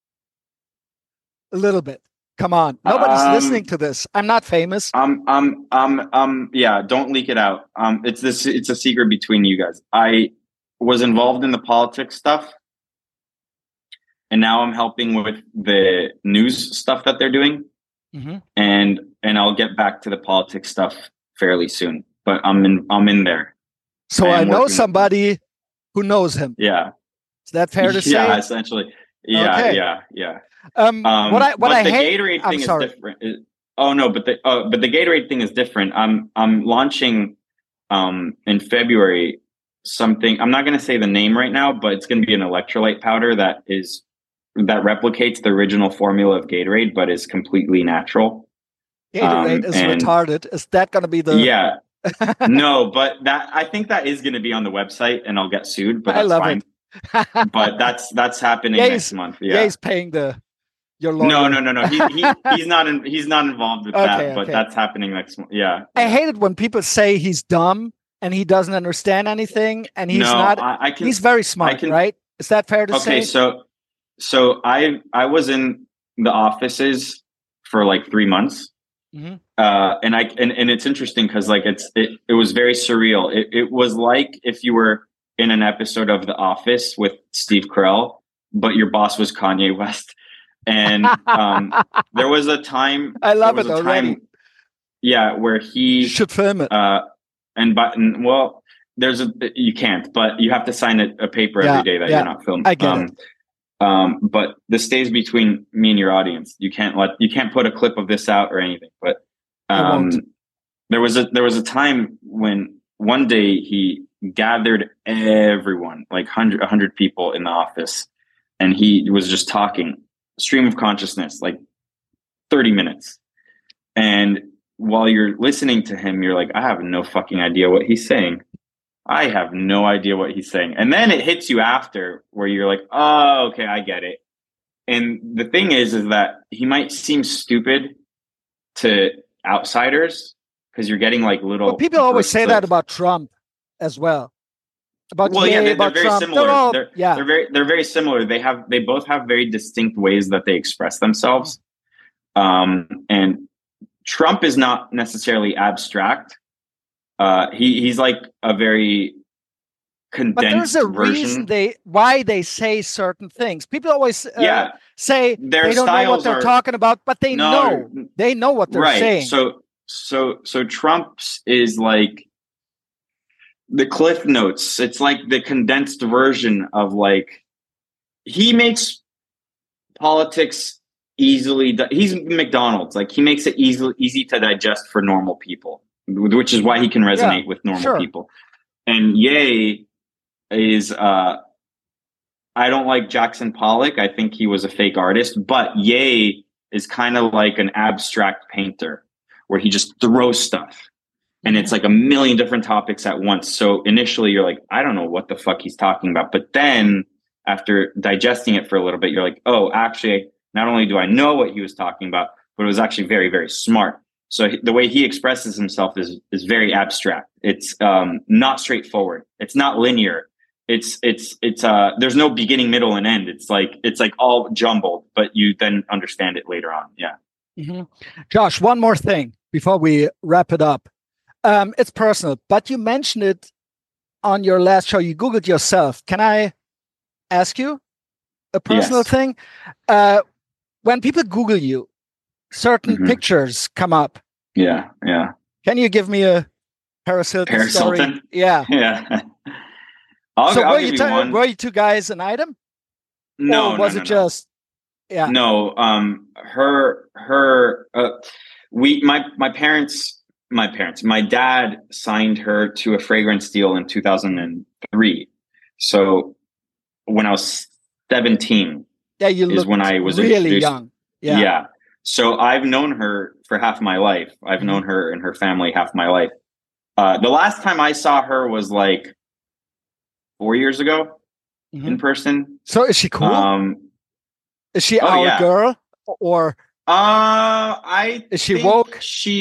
A little bit. Come on. Nobody's listening to this. I'm not famous. Yeah, don't leak it out. It's a secret between you guys. I was involved in the politics stuff. And now I'm helping with the news stuff that they're doing. Mm-hmm. And I'll get back to the politics stuff fairly soon. But I'm in there. So I know somebody who knows him. Yeah. Is that fair to say? Yeah, essentially. Yeah, okay. Yeah. What I hate, Gatorade thing is different. But the Gatorade thing is different. I'm launching in February something. I'm not going to say the name right now, but it's going to be an electrolyte powder that replicates the original formula of Gatorade, but is completely natural. Gatorade is retarded. Is that going to be the? Yeah. No, but I think that is going to be on the website, and I'll get sued. But that's fine. But that's happening next month. Yeah, he's paying your lawyer. No. He's not involved with that. But that's happening next month. Yeah. I hate it when people say he's dumb and he doesn't understand anything, and he's not. He's very smart, right? Is that fair to say? Okay, so I was in the offices for like 3 months. Mm-hmm. And it's interesting because like it was very surreal. It was like if you were in an episode of The Office with Steve Carell, but your boss was Kanye West. And there was a time I love it already. Where he should film it. You can't, but you have to sign a paper every day that you're not filming. I get it. But this stays between me and your audience. You can't put a clip of this out or anything. But there was a time when one day he gathered everyone, like 100 people in the office, and he was just talking, stream of consciousness, like 30 minutes. And while you're listening to him, you're like, I have no fucking idea what he's saying. I have no idea what he's saying. And then it hits you after where you're like, oh, okay, I get it. And the thing is that he might seem stupid to outsiders because you're getting like little. But people always say that about Trump as well. They're very similar. They're very similar. They both have very distinct ways that they express themselves. And Trump is not necessarily abstract. He's like a very condensed But there's a version. reason why they say certain things. People always say they don't know what they're talking about, but they know what they're saying. So Trump's is like the Cliff Notes. It's like the condensed version of like, he makes politics easily. He's McDonald's. Like he makes it easy to digest for normal people, which is why he can resonate with normal people. And Ye is, I don't like Jackson Pollock. I think he was a fake artist, but Ye is kind of like an abstract painter where he just throws stuff. And it's like a million different topics at once. So initially you're like, I don't know what the fuck he's talking about. But then after digesting it for a little bit, you're like, oh, actually, not only do I know what he was talking about, but it was actually very, very smart. So the way he expresses himself is very abstract. It's not straightforward. It's not linear. It's there's no beginning, middle, and end. It's like all jumbled, but you then understand it later on. Yeah. Mm-hmm. Josh, one more thing before we wrap it up. It's personal, but you mentioned it on your last show. You Googled yourself. Can I ask you a personal thing? when people Google you, certain pictures come up. Yeah, yeah. Can you give me a Paris Hilton story? Hilton? Yeah. Yeah. I'll give you one. Were you two guys an item? No, or was it just yeah? No, my dad signed her to a fragrance deal in 2003. So when I was 17, is when I was really introduced. Young. Yeah. So I've known her for half my life. I've known her and her family half my life. The last time I saw her was like 4 years ago in person. So is she cool? Is she our girl or? Is she woke?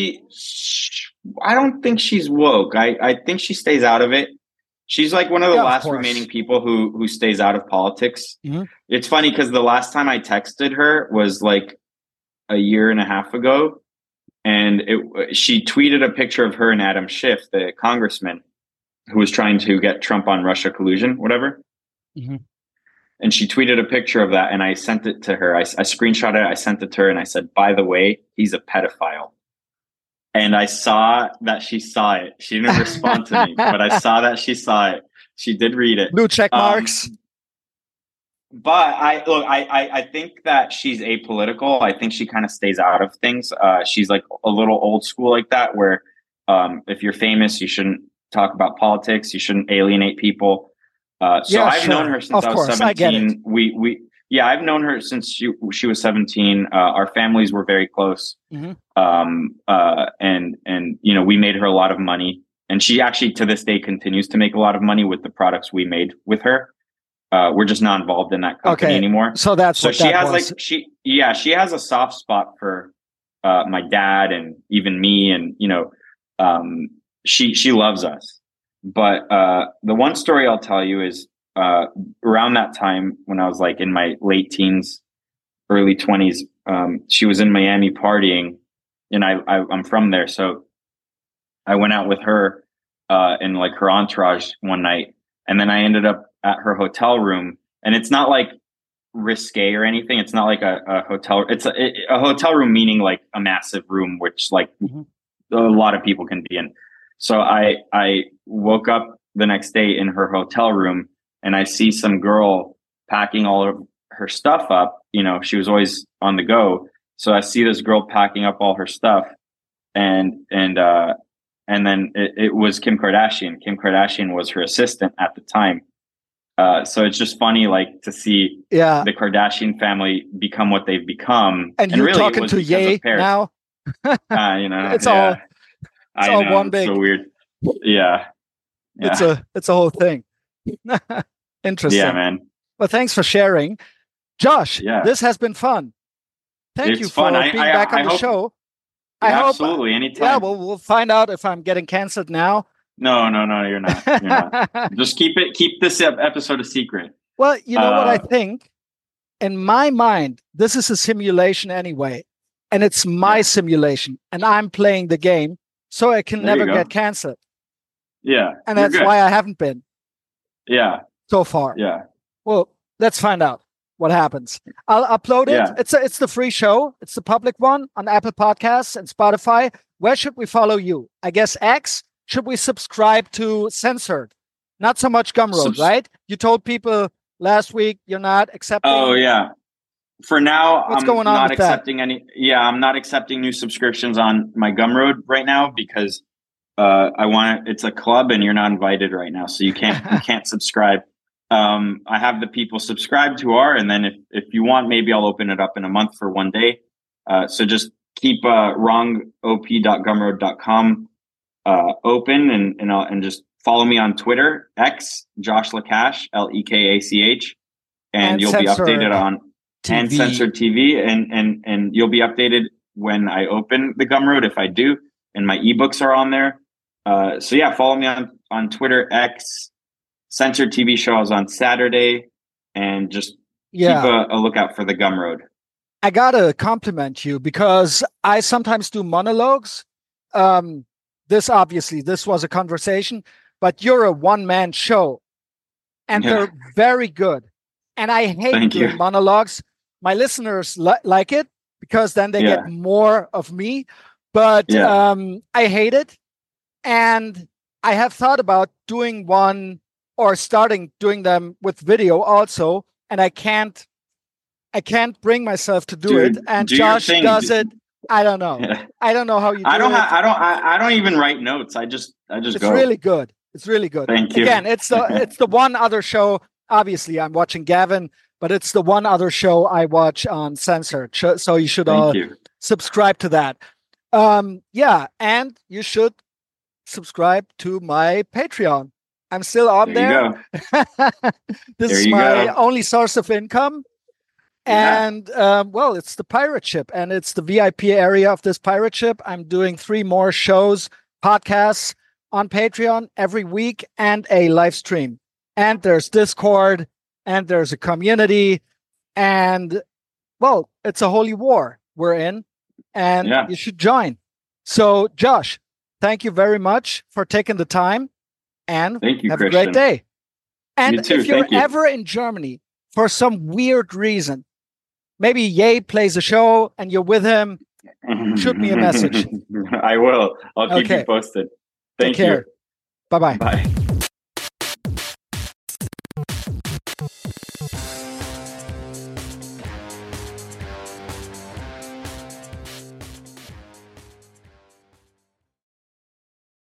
I don't think she's woke. I think she stays out of it. She's like one of the last remaining people who stays out of politics. It's funny because the last time I texted her was like a year and a half ago, and she tweeted a picture of her and Adam Schiff, the congressman who was trying to get Trump on Russia collusion, whatever. And she tweeted a picture of that, and I sent it to her. I screenshot it, I sent it to her, and I said, by the way, he's a pedophile. And I saw that she saw it. She didn't respond to me, but I saw that she saw it. She did read it. Blue check marks. But I think that she's apolitical. I think she kind of stays out of things. She's like a little old school like that, where if you're famous, you shouldn't talk about politics. You shouldn't alienate people. I've known her since I was 17. I've known her since she was 17. Our families were very close. And we made her a lot of money, and she actually to this day continues to make a lot of money with the products we made with her. We're just not involved in that company anymore. So she has she has a soft spot for my dad and even me, and she loves us. But the one story I'll tell you is around that time when I was like in my late teens, early 20s, she was in Miami partying, and I'm from there. So I went out with her and like her entourage one night, and then I ended up at her hotel room. And it's not like risque or anything. It's not like a hotel. It's a hotel room, meaning like a massive room, which like a lot of people can be in. So I woke up the next day in her hotel room, and I see some girl packing all of her stuff up. She was always on the go. So I see this girl packing up all her stuff, and then it was Kim Kardashian. Kim Kardashian was her assistant at the time. So it's just funny, like, to see the Kardashian family become what they've become. And you're really talking to Ye now. It's all. It's all one big. So weird. Yeah. It's a whole thing. Interesting. Yeah, man. Well, thanks for sharing, Josh. This has been fun. Thank you for being back on the show. I hope, absolutely, anytime. Yeah, we'll find out if I'm getting canceled now. No, you're not. You're not. Just keep this episode a secret. Well, you know what I think? In my mind, this is a simulation anyway, and it's my simulation, and I'm playing the game, so I can never get canceled. Yeah. And that's why I haven't been. Yeah. So far. Yeah. Well, let's find out what happens. I'll upload it. Yeah. It's the free show. It's the public one on Apple Podcasts and Spotify. Where should we follow you? I guess X. Should we subscribe to Censored? Not so much Gumroad, right? You told people last week you're not accepting. Oh, yeah. For now, I'm not accepting any. Yeah, I'm not accepting new subscriptions on my Gumroad right now because it's a club and you're not invited right now, so you can't subscribe. I have the people subscribed who are, and then if you want, maybe I'll open it up in a month for one day. So just keep wrongop.gumroad.com open and just follow me on Twitter, X Josh Lekach, Lekach, and you'll be updated on TV. And Censored TV, and you'll be updated when I open the Gumroad if I do, and my ebooks are on there. So yeah, follow me on Twitter, X. Censored TV show is on Saturday, and just keep a lookout for the Gumroad. I gotta compliment you because I sometimes do monologues. This was a conversation, but you're a one-man show, and they're very good. And I hate doing monologues my listeners like it because then they Yeah. get more of me. But Yeah. I hate it. And I have thought about doing one or starting doing them with video also. And I can't bring myself to do Dude, it. And do your Josh thing. does it. I don't know. Yeah. I don't know how you do I don't it. I don't even write notes. I just It's go. really good. It's really good. Thank you. Again, it's the one other show. Obviously, I'm watching Gavin, but it's the one other show I watch on Censored. So you should all subscribe to that. Yeah, and you should subscribe to my Patreon. I'm still on there. This is my only source of income. Yeah. And well, it's the pirate ship, and it's the VIP area of this pirate ship. I'm doing 3 more shows, podcasts on Patreon every week, and a live stream. And there's Discord, and there's a community, and well, it's a holy war we're in, and you should join. So, Josh, thank you very much for taking the time, and thank you, have Christian. a great day. And you too. if you're ever in Germany for some weird reason, maybe Ye plays a show and you're with him, shoot me a message. I will. I'll keep you posted. Thank you. Take care. Bye-bye. Bye.